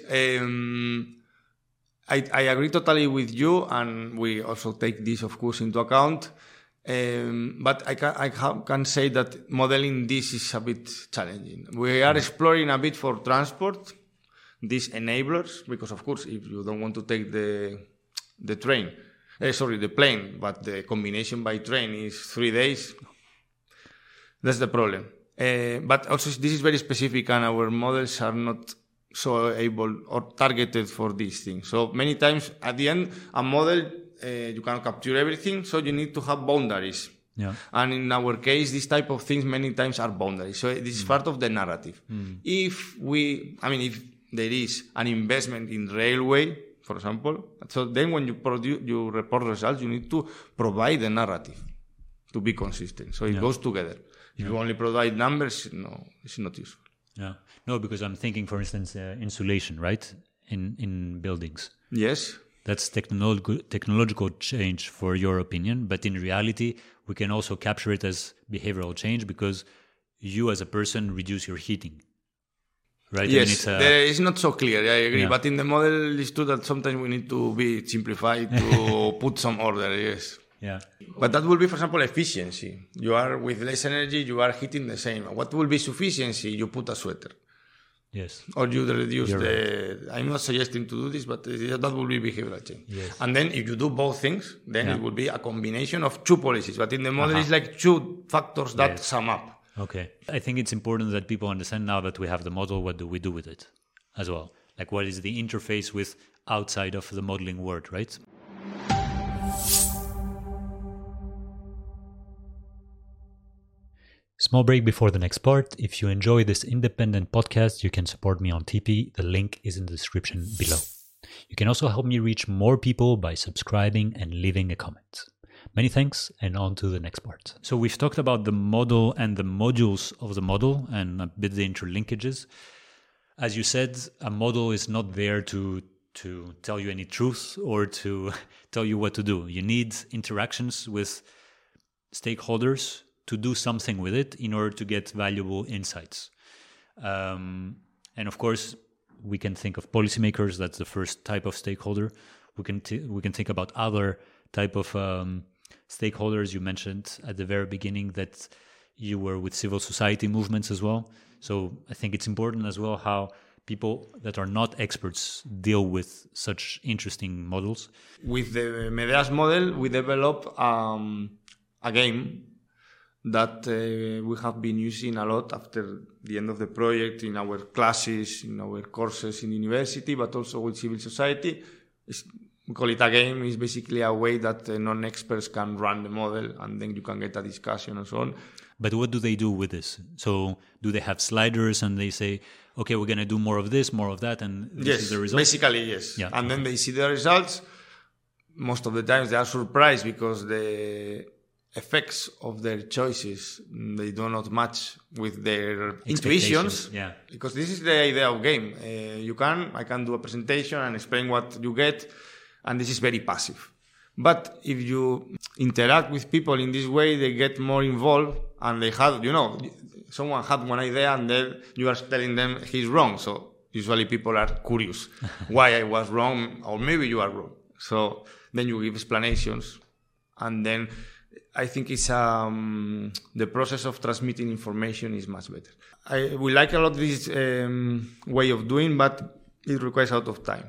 I agree totally with you, and we also take this, of course, into account. But I can say that modeling this is a bit challenging. We are exploring a bit for transport, these enablers, because of course, if you don't want to take the plane, but the combination by train is 3 days, that's the problem. But also this is very specific and our models are not so able or targeted for these things. So many times at the end, a model, you cannot capture everything, so you need to have boundaries. Yeah. And in our case, this type of things many times are boundaries. So this is part of the narrative. If there is an investment in railway, for example, so then when you report results, you need to provide the narrative to be consistent. So it goes together. If you only provide numbers, no, it's not useful. Yeah. No, because I'm thinking, for instance, insulation, right? In buildings. Yes. That's technological change for your opinion, but in reality, we can also capture it as behavioral change because you as a person reduce your heating. Right? Yes, it's not so clear, I agree. Yeah. But in the model, it's true that sometimes we need to be simplified to put some order, yes. Yeah. But that will be, for example, efficiency. You are with less energy, you are heating the same. What will be sufficiency? You put a sweater. Yes. Or you reduce Right. I'm not suggesting to do this, but that will be behavioral change. Yes. And then if you do both things, then it will be a combination of two policies. But in the model, it's like two factors that sum up. Okay. I think it's important that people understand now that we have the model, what do we do with it as well? Like what is the interface with outside of the modeling world, right? Small break before the next part. If you enjoy this independent podcast, you can support me on Tipeee. The link is in the description below. You can also help me reach more people by subscribing and leaving a comment. Many thanks, and on to the next part. So we've talked about the model and the modules of the model and a bit the interlinkages. As you said, a model is not there to tell you any truth or to tell you what to do. You need interactions with stakeholders to do something with it in order to get valuable insights. And of course, we can think of policymakers. That's the first type of stakeholder. We can think about other type of stakeholders. You mentioned at the very beginning that you were with civil society movements as well. So I think it's important as well how people that are not experts deal with such interesting models. With the Medeas model, we developed a game that we have been using a lot after the end of the project in our classes, in our courses in university, but also with civil society. We call it a game. It's basically a way that non-experts can run the model and then you can get a discussion and so on. But what do they do with this? So do they have sliders and they say, okay, we're going to do more of this, more of that, and this is the result? Basically, yes. Yeah. And then they see the results. Most of the times they are surprised because the effects of their choices, they do not match with their intuitions. Yeah. Because this is the idea of game. I can do a presentation and explain what you get, and this is very passive. But if you interact with people in this way, they get more involved, and they have, someone had one idea and then you are telling them he's wrong. So usually people are curious why I was wrong, or maybe you are wrong. So then you give explanations, and then I think it's the process of transmitting information is much better. We like a lot this way of doing, but it requires a lot of time.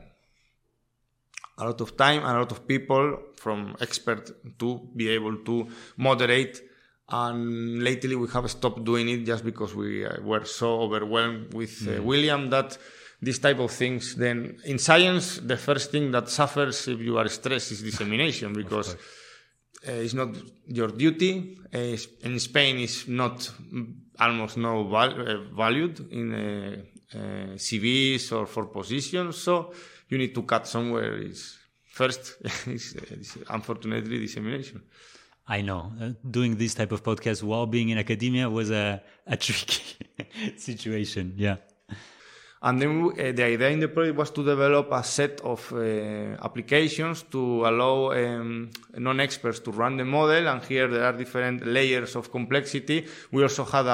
A lot of time and a lot of people from expert to be able to moderate. And lately we have stopped doing it just because we were so overwhelmed with William that these type of things, then in science, the first thing that suffers if you are stressed is dissemination, because it's not your duty. In Spain, it's not almost no valued in CVs or for positions. So you need to cut somewhere. First is unfortunately dissemination. I know. Doing this type of podcast while being in academia was a tricky situation. Yeah. And then the idea in the project was to develop a set of applications to allow non-experts to run the model. And here there are different layers of complexity. We also had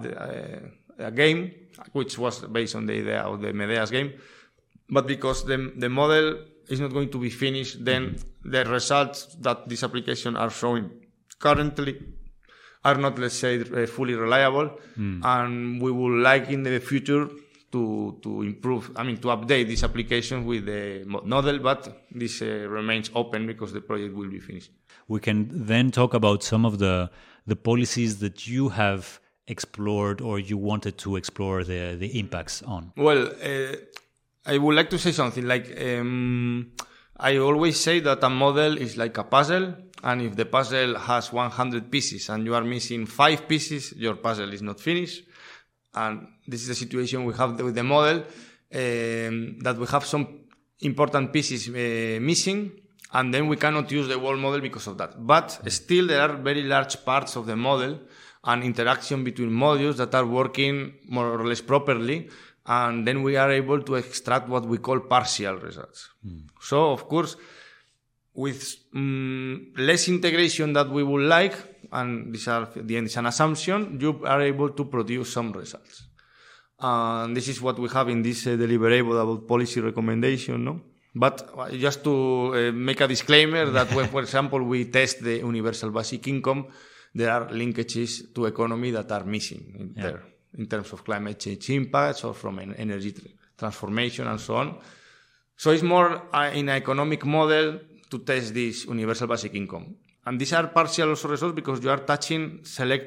a game, which was based on the idea of the Medeas game. But because the model is not going to be finished, then the results that this application are showing currently are not, let's say, fully reliable. And we would like in the future to improve, to update this application with the model, but this remains open because the project will be finished. We can then talk about some of the policies that you have explored or you wanted to explore the impacts on. Well, I would like to say something like, I always say that a model is like a puzzle, and if the puzzle has 100 pieces and you are missing 5 pieces, your puzzle is not finished. And this is the situation we have with the model, that we have some important pieces missing, and then we cannot use the whole model because of that. But still, there are very large parts of the model and interaction between modules that are working more or less properly, and then we are able to extract what we call partial results. So, of course, with less integration that we would like, and this are, at the end is an assumption, you are able to produce some results. And this is what we have in this deliverable about policy recommendation, no? But just to make a disclaimer that when, for example, we test the universal basic income, there are linkages to economy that are missing there in terms of climate change impacts or from energy transformation and so on. So it's more in an economic model to test this universal basic income. And these are partial also results because you are touching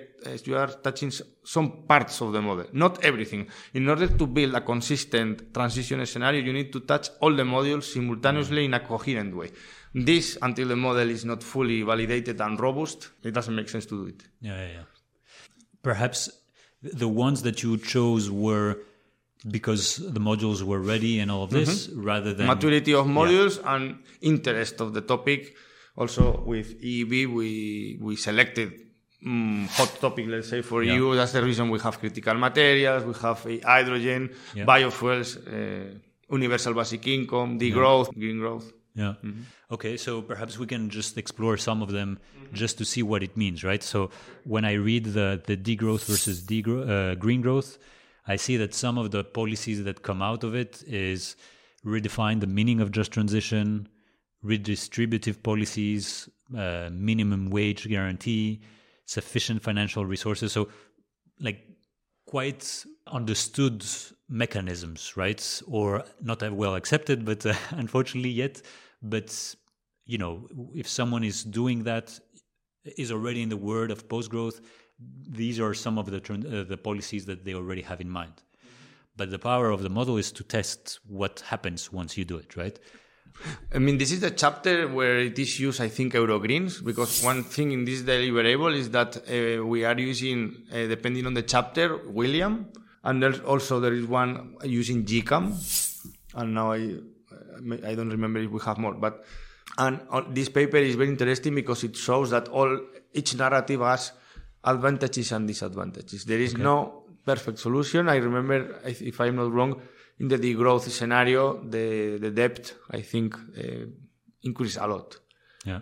some parts of the model, not everything. In order to build a consistent transition scenario, you need to touch all the modules simultaneously in a coherent way. This, until the model is not fully validated and robust, it doesn't make sense to do it. Yeah. Perhaps the ones that you chose were because the modules were ready and all of this, rather than maturity of modules and interest of the topic. Also, with EEB, we selected hot topic, let's say, for you. That's the reason we have critical materials, we have hydrogen, biofuels, universal basic income, degrowth, green growth. Yeah. Okay, so perhaps we can just explore some of them just to see what it means, right? So when I read the degrowth versus green growth, I see that some of the policies that come out of it is redefine the meaning of just transition, redistributive policies, minimum wage guarantee, sufficient financial resources. So like quite understood mechanisms, right? Or not that well accepted, but unfortunately yet. But, you know, if someone is doing that, is already in the world of post-growth, these are some of the policies that they already have in mind. But the power of the model is to test what happens once you do it, right? I mean, this is the chapter where it is used, I think, Eurogreens, because one thing in this deliverable is that we are using, depending on the chapter, William, and there is one using GCAM, and now I don't remember if we have more, but this paper is very interesting because it shows that each narrative has advantages and disadvantages. There is no perfect solution. I remember, if I'm not wrong, in the degrowth scenario, the debt, I think, increased a lot. Yeah.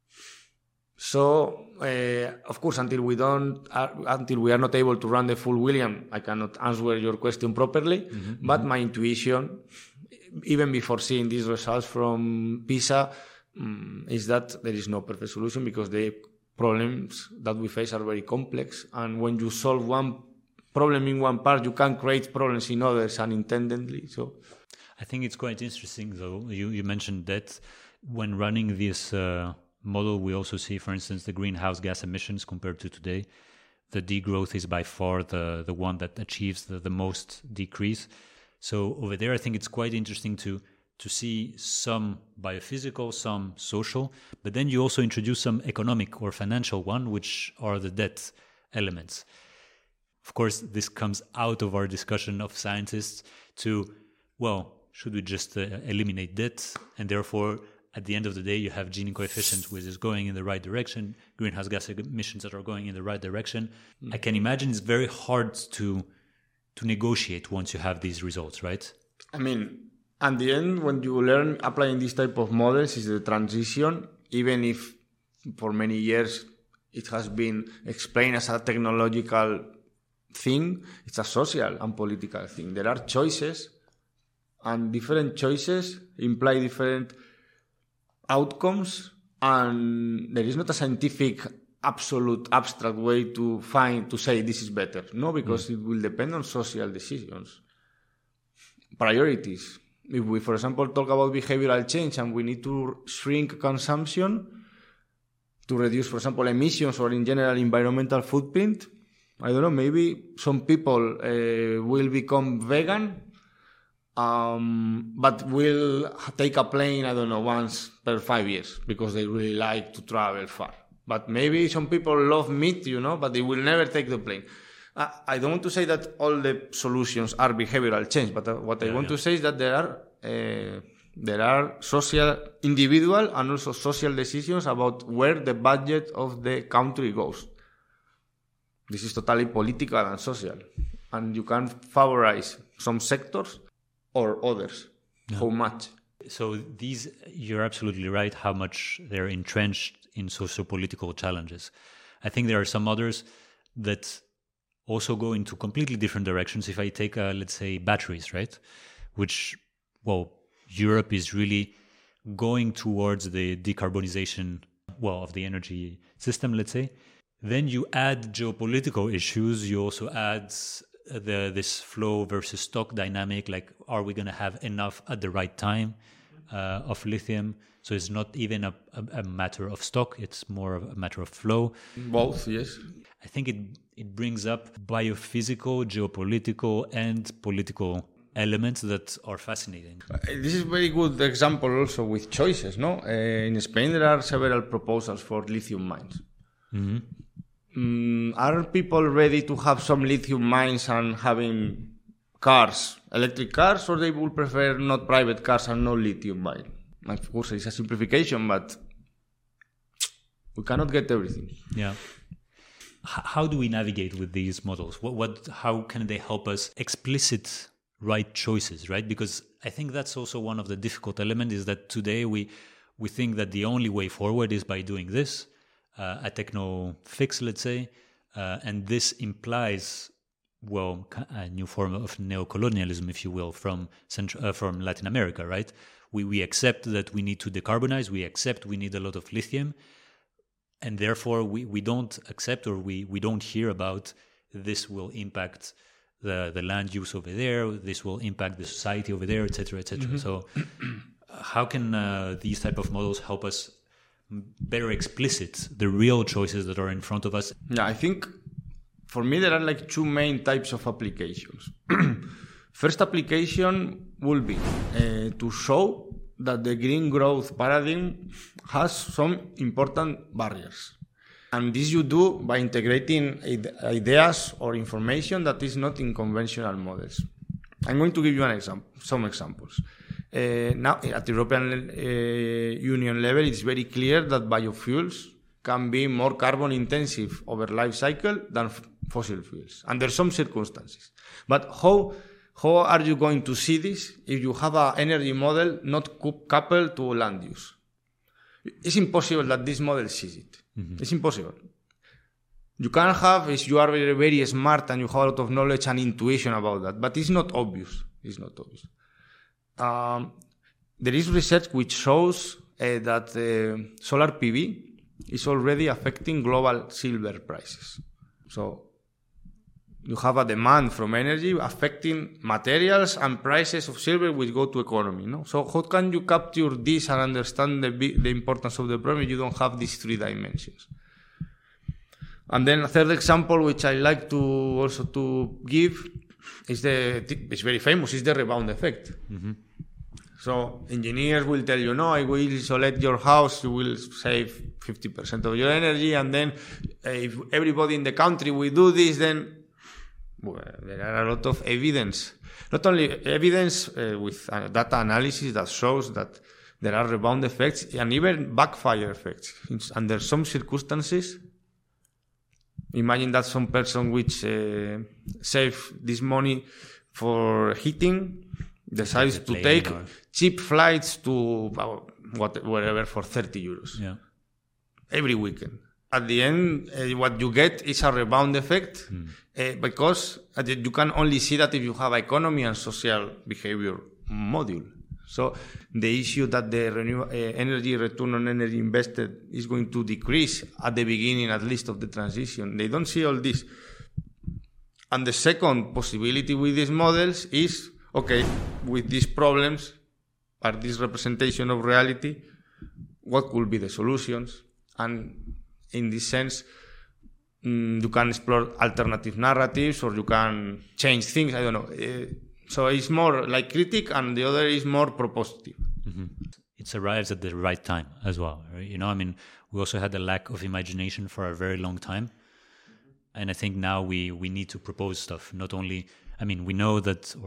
So, of course, until we are not able to run the full William, I cannot answer your question properly. But my intuition, even before seeing these results from PISA, is that there is no perfect solution because the problems that we face are very complex. And when you solve one problem in one part, you can create problems in others unintendedly. So, I think it's quite interesting, though. You mentioned that when running this model, we also see, for instance, the greenhouse gas emissions compared to today. The degrowth is by far the one that achieves the most decrease. So over there, I think it's quite interesting to see some biophysical, some social, but then you also introduce some economic or financial one, which are the debt elements. Of course, this comes out of our discussion of scientists to, well, should we just eliminate debt? And therefore, at the end of the day, you have Gini coefficient, which is going in the right direction, greenhouse gas emissions that are going in the right direction. I can imagine it's very hard to negotiate once you have these results, right? I mean, at the end, when you learn applying this type of models, is the transition, even if for many years it has been explained as a technological thing, it's a social and political thing. There are choices, and different choices imply different outcomes, and there is not a scientific absolute abstract way to say this is better. No, because it will depend on social decisions, priorities. If we, for example, talk about behavioral change and we need to shrink consumption to reduce, for example, emissions or in general environmental footprint, I don't know, maybe some people will become vegan, but will take a plane, I don't know, once per 5 years because they really like to travel far. But maybe some people love meat, but they will never take the plane. I don't want to say that all the solutions are behavioral change, but what I want to say is that there are social, individual, and also social decisions about where the budget of the country goes. This is totally political and social, and you can favorize some sectors or others. Yeah. How much? So you're absolutely right. How much they're entrenched in socio-political challenges. I think there are some others that also go into completely different directions. If I take, let's say, batteries, right? Which, Europe is really going towards the decarbonization, of the energy system, let's say. Then you add geopolitical issues. You also add this flow versus stock dynamic. Like, are we going to have enough at the right time of lithium? So it's not even a matter of stock. It's more of a matter of flow. Both, yes. I think it brings up biophysical, geopolitical, and political elements that are fascinating. This is a very good example also with choices, no? In Spain, there are several proposals for lithium mines. Mm-hmm. Are people ready to have some lithium mines and having cars, electric cars, or they would prefer not private cars and no lithium mine? Of course, it's a simplification, but we cannot get everything. Yeah. How do we navigate with these models? How can they help us explicit right choices, right? Because I think that's also one of the difficult elements, is that today we think that the only way forward is by doing this, a techno fix, let's say, and this implies, a new form of neocolonialism, if you will, from Latin America, right? We accept that we need to decarbonize, we accept we need a lot of lithium, and therefore we don't accept, or we don't hear about this will impact the land use over there, this will impact the society over there, etc., etc. Mm-hmm. So how can these type of models help us better explicit the real choices that are in front of us? Yeah, I think for me there are like two main types of applications. First application will be to show that the green growth paradigm has some important barriers. And this you do by integrating ideas or information that is not in conventional models. I'm going to give you some examples. Now, at the European Union level, it's very clear that biofuels can be more carbon intensive over life cycle than fossil fuels under some circumstances. But how are you going to see this if you have an energy model not coupled to land use? It's impossible that this model sees it. Mm-hmm. It's impossible. You can have, if you are very, very smart and you have a lot of knowledge and intuition about that, but it's not obvious. It's not obvious. There is research which shows that solar PV is already affecting global silver prices. So you have a demand from energy affecting materials and prices of silver which go to economy. No? So how can you capture this and understand the importance of the problem if you don't have these three dimensions? And then a third example which I like to also to give is it's very famous, is the rebound effect. Mm-hmm. So engineers will tell you, no, I will isolate your house, you will save 50% of your energy, and then if everybody in the country will do this, then there are a lot of evidence. Not only evidence with data analysis that shows that there are rebound effects and even backfire effects. Under some circumstances, imagine that some person which save this money for heating decides to take cheap flights to wherever for 30 euros every weekend. At the end, what you get is a rebound effect because you can only see that if you have economy and social behavior module. So the issue that the energy return on energy invested is going to decrease at the beginning, at least, of the transition. They don't see all this. And the second possibility with these models is, okay, with these problems, or this representation of reality, what could be the solutions? And in this sense, you can explore alternative narratives, or you can change things. I don't know. So it's more like critic, and the other is more propositive. Mm-hmm. It arrives at the right time as well, right? You know, I mean, we also had a lack of imagination for a very long time. And I think now we need to propose stuff. Not only, I mean, we know,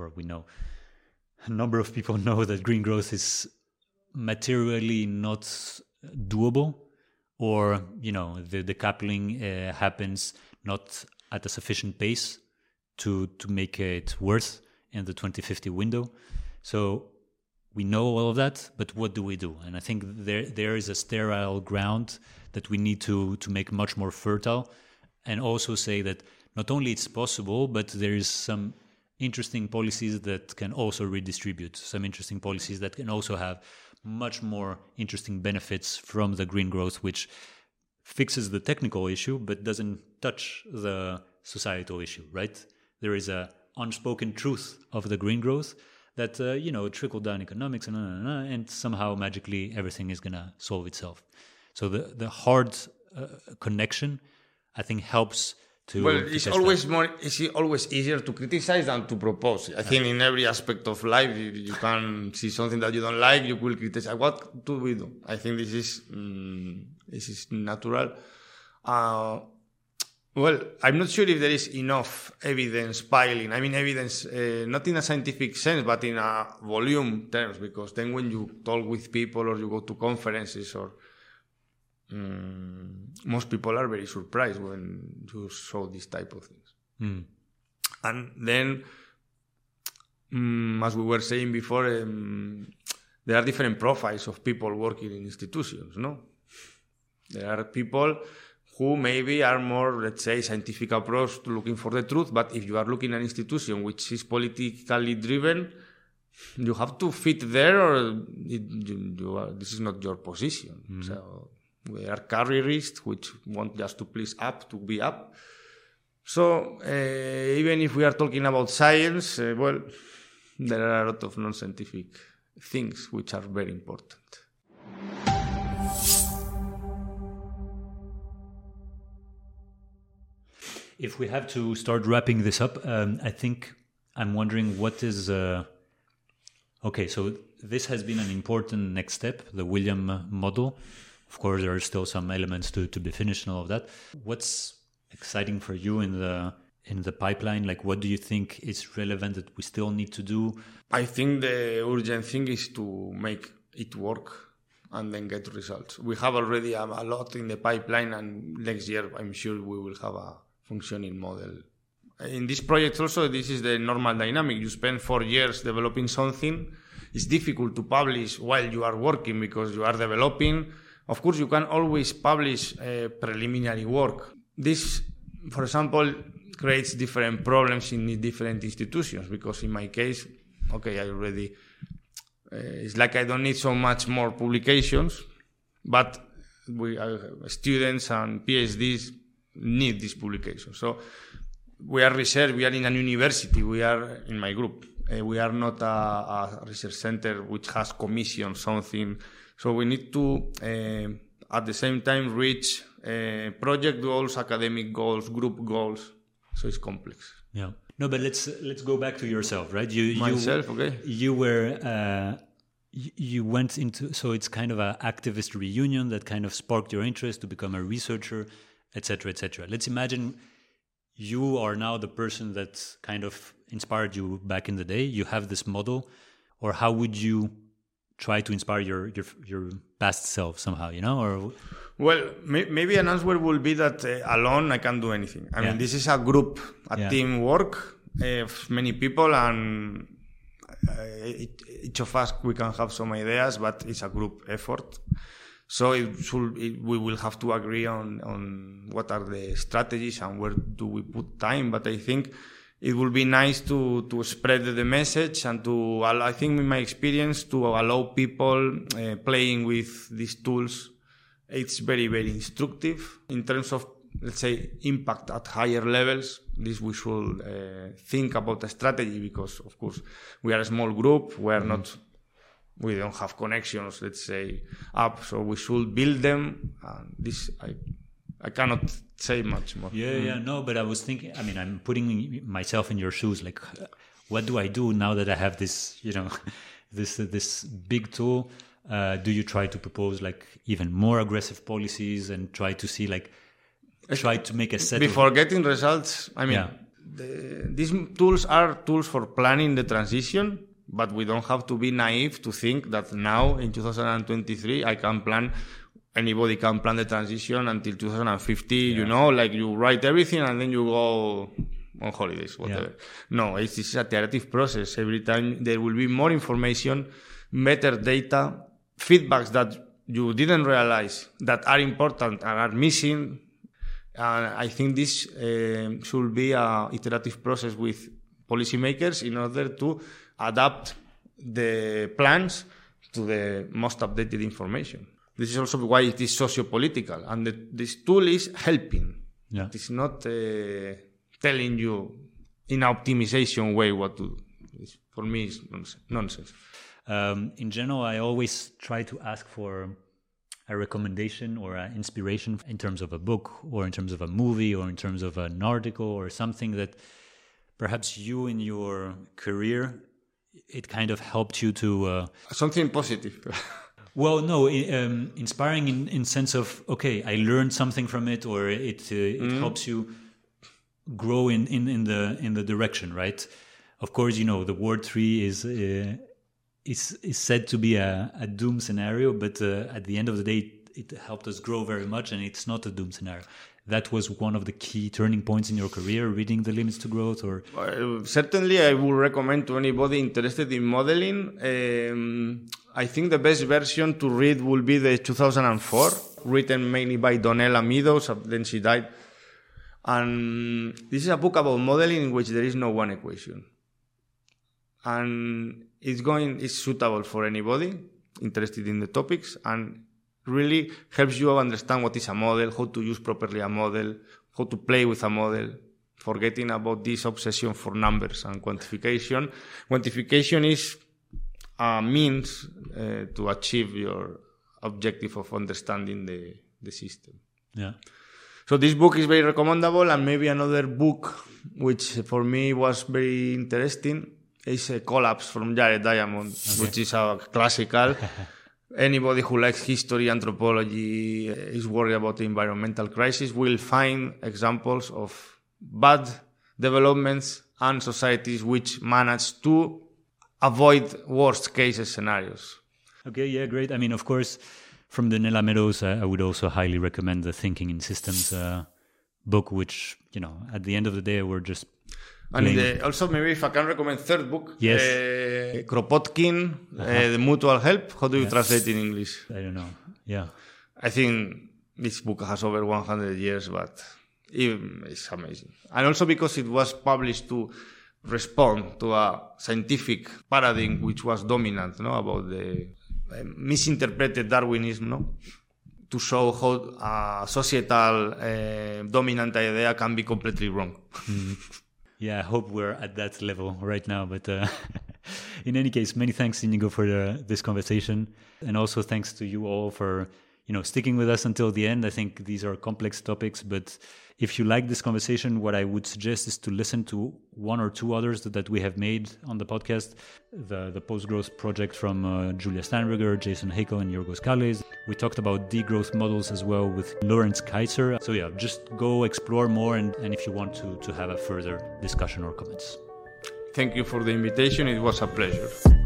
a number of people know that green growth is materially not doable, or, you know, the decoupling happens not at a sufficient pace to make it worth in the 2050 window. So we know all of that, but what do we do? And I think there is a sterile ground that we need to make much more fertile, and also say that not only it's possible, but there is some interesting policies that can also redistribute, some interesting policies that can also have much more interesting benefits from the green growth, which fixes the technical issue but doesn't touch the societal issue, right? There is a unspoken truth of the green growth that, trickle down economics and somehow magically everything is going to solve itself. So the hard connection, I think, helps to... Well, it's always easier to criticize than to propose. I think in every aspect of life, you can see something that you don't like, you will criticize. What do we do? I think this is natural. Well, I'm not sure if there is enough evidence piling. I mean, evidence, not in a scientific sense, but in a volume terms, because then when you talk with people or you go to conferences, or most people are very surprised when you show this type of things. And then, as we were saying before, there are different profiles of people working in institutions, no? There are people who maybe are more, let's say, scientific approach to looking for the truth. But if you are looking at an institution which is politically driven, you have to fit there, or this is not your position. So we are careerists which want just to please up, to be up. So even if we are talking about science, well, there are a lot of non-scientific things which are very important. If we have to start wrapping this up, I think I'm wondering what is... Okay, so this has been an important next step, the William model. Of course, there are still some elements to be finished and all of that. What's exciting for you in the pipeline? Like, what do you think is relevant that we still need to do? I think the urgent thing is to make it work and then get results. We have already a lot in the pipeline, and next year I'm sure we will have a functioning model. In this project also, this is the normal dynamic. You spend 4 years developing something. It's difficult to publish while you are working because you are developing. Of course, you can always publish preliminary work. This, for example, creates different problems in different institutions, because in my case, okay, I already... it's like I don't need so much more publications, but students and PhDs need this publication. So we are research, we are in a university, we are in my group. We are not a research center which has commissioned something. So we need to, at the same time, reach project goals, academic goals, group goals. So it's complex. Yeah. No, but let's go back to yourself, right? Myself, okay. You were... You went into, so it's kind of an activist reunion that kind of sparked your interest to become a researcher, etc., etc. Let's imagine you are now the person that kind of inspired you back in the day. You have this model, or how would you try to inspire your past self somehow, you know? Or well, maybe an answer will be that alone I can't do anything. I mean, this is a group, team work of many people, and each of us, we can have some ideas, but it's a group effort. So we will have to agree on what are the strategies and where do we put time. But I think it would be nice to spread the message and to, I think in my experience, to allow people playing with these tools. It's very, very instructive in terms of, let's say, impact at higher levels. This we should think about a strategy because, of course, we are a small group. We don't have connections, let's say, up. So we should build them. I cannot say much more. No, but I was thinking, I mean, I'm putting myself in your shoes. Like, what do I do now that I have this, this big tool? Do you try to propose like even more aggressive policies and try to see try to make a set before getting results? I mean, these tools are tools for planning the transition, but we don't have to be naive to think that now in 2023 anybody can plan the transition until 2050, you write everything and then you go on holidays, whatever. No, it's a iterative process. Every time there will be more information, better data, feedbacks that you didn't realize that are important and are missing. I think this should be an iterative process with policymakers in order to adapt the plans to the most updated information. This is also why it is socio-political, and this tool is helping. It is not telling you in an optimization way what to do. For me, it's nonsense. In general, I always try to ask for a recommendation or an inspiration in terms of a book or in terms of a movie or in terms of an article or something that perhaps you in your career, it kind of helped you to... something positive. Well, no, inspiring in sense of, okay, I learned something from it, or it helps you grow in the direction, right? Of course, the Ward 3 is said to be a doom scenario, but at the end of the day, it helped us grow very much, and it's not a doom scenario. That was one of the key turning points in your career, reading The Limits to Growth, or... Certainly, I would recommend to anybody interested in modeling. I think the best version to read will be the 2004, written mainly by Donella Meadows, then she died. And this is a book about modeling in which there is no one equation. And it's suitable for anybody interested in the topics and really helps you understand what is a model, how to use properly a model, how to play with a model, forgetting about this obsession for numbers and quantification. Quantification is a means to achieve your objective of understanding the system. Yeah. So this book is very recommendable, and maybe another book which for me was very interesting is Collapse from Jared Diamond, which is a classical. Anybody who likes history, anthropology, is worried about the environmental crisis will find examples of bad developments and societies which manage to avoid worst case scenarios. Okay, yeah, great. I mean, of course, from Donella Meadows, I would also highly recommend the Thinking in Systems book, which, at the end of the day, we're just... And also, maybe if I can recommend third book, yes. Kropotkin, The Mutual Help. How do you translate in English? I don't know. Yeah. I think this book has over 100 years, but it's amazing. And also because it was published to respond to a scientific paradigm which was dominant, about the misinterpreted Darwinism, to show how a societal dominant idea can be completely wrong. Mm-hmm. Yeah, I hope we're at that level right now. But in any case, many thanks, Inigo, for this conversation. And also thanks to you all for, sticking with us until the end. I think these are complex topics, but if you like this conversation, what I would suggest is to listen to one or two others that we have made on the podcast. The Post-Growth project from Julia Steinberger, Jason Hakel, and Yorgos Kallis. We talked about degrowth models as well with Lawrence Kaiser. So yeah, just go explore more and if you want to have a further discussion or comments. Thank you for the invitation. It was a pleasure.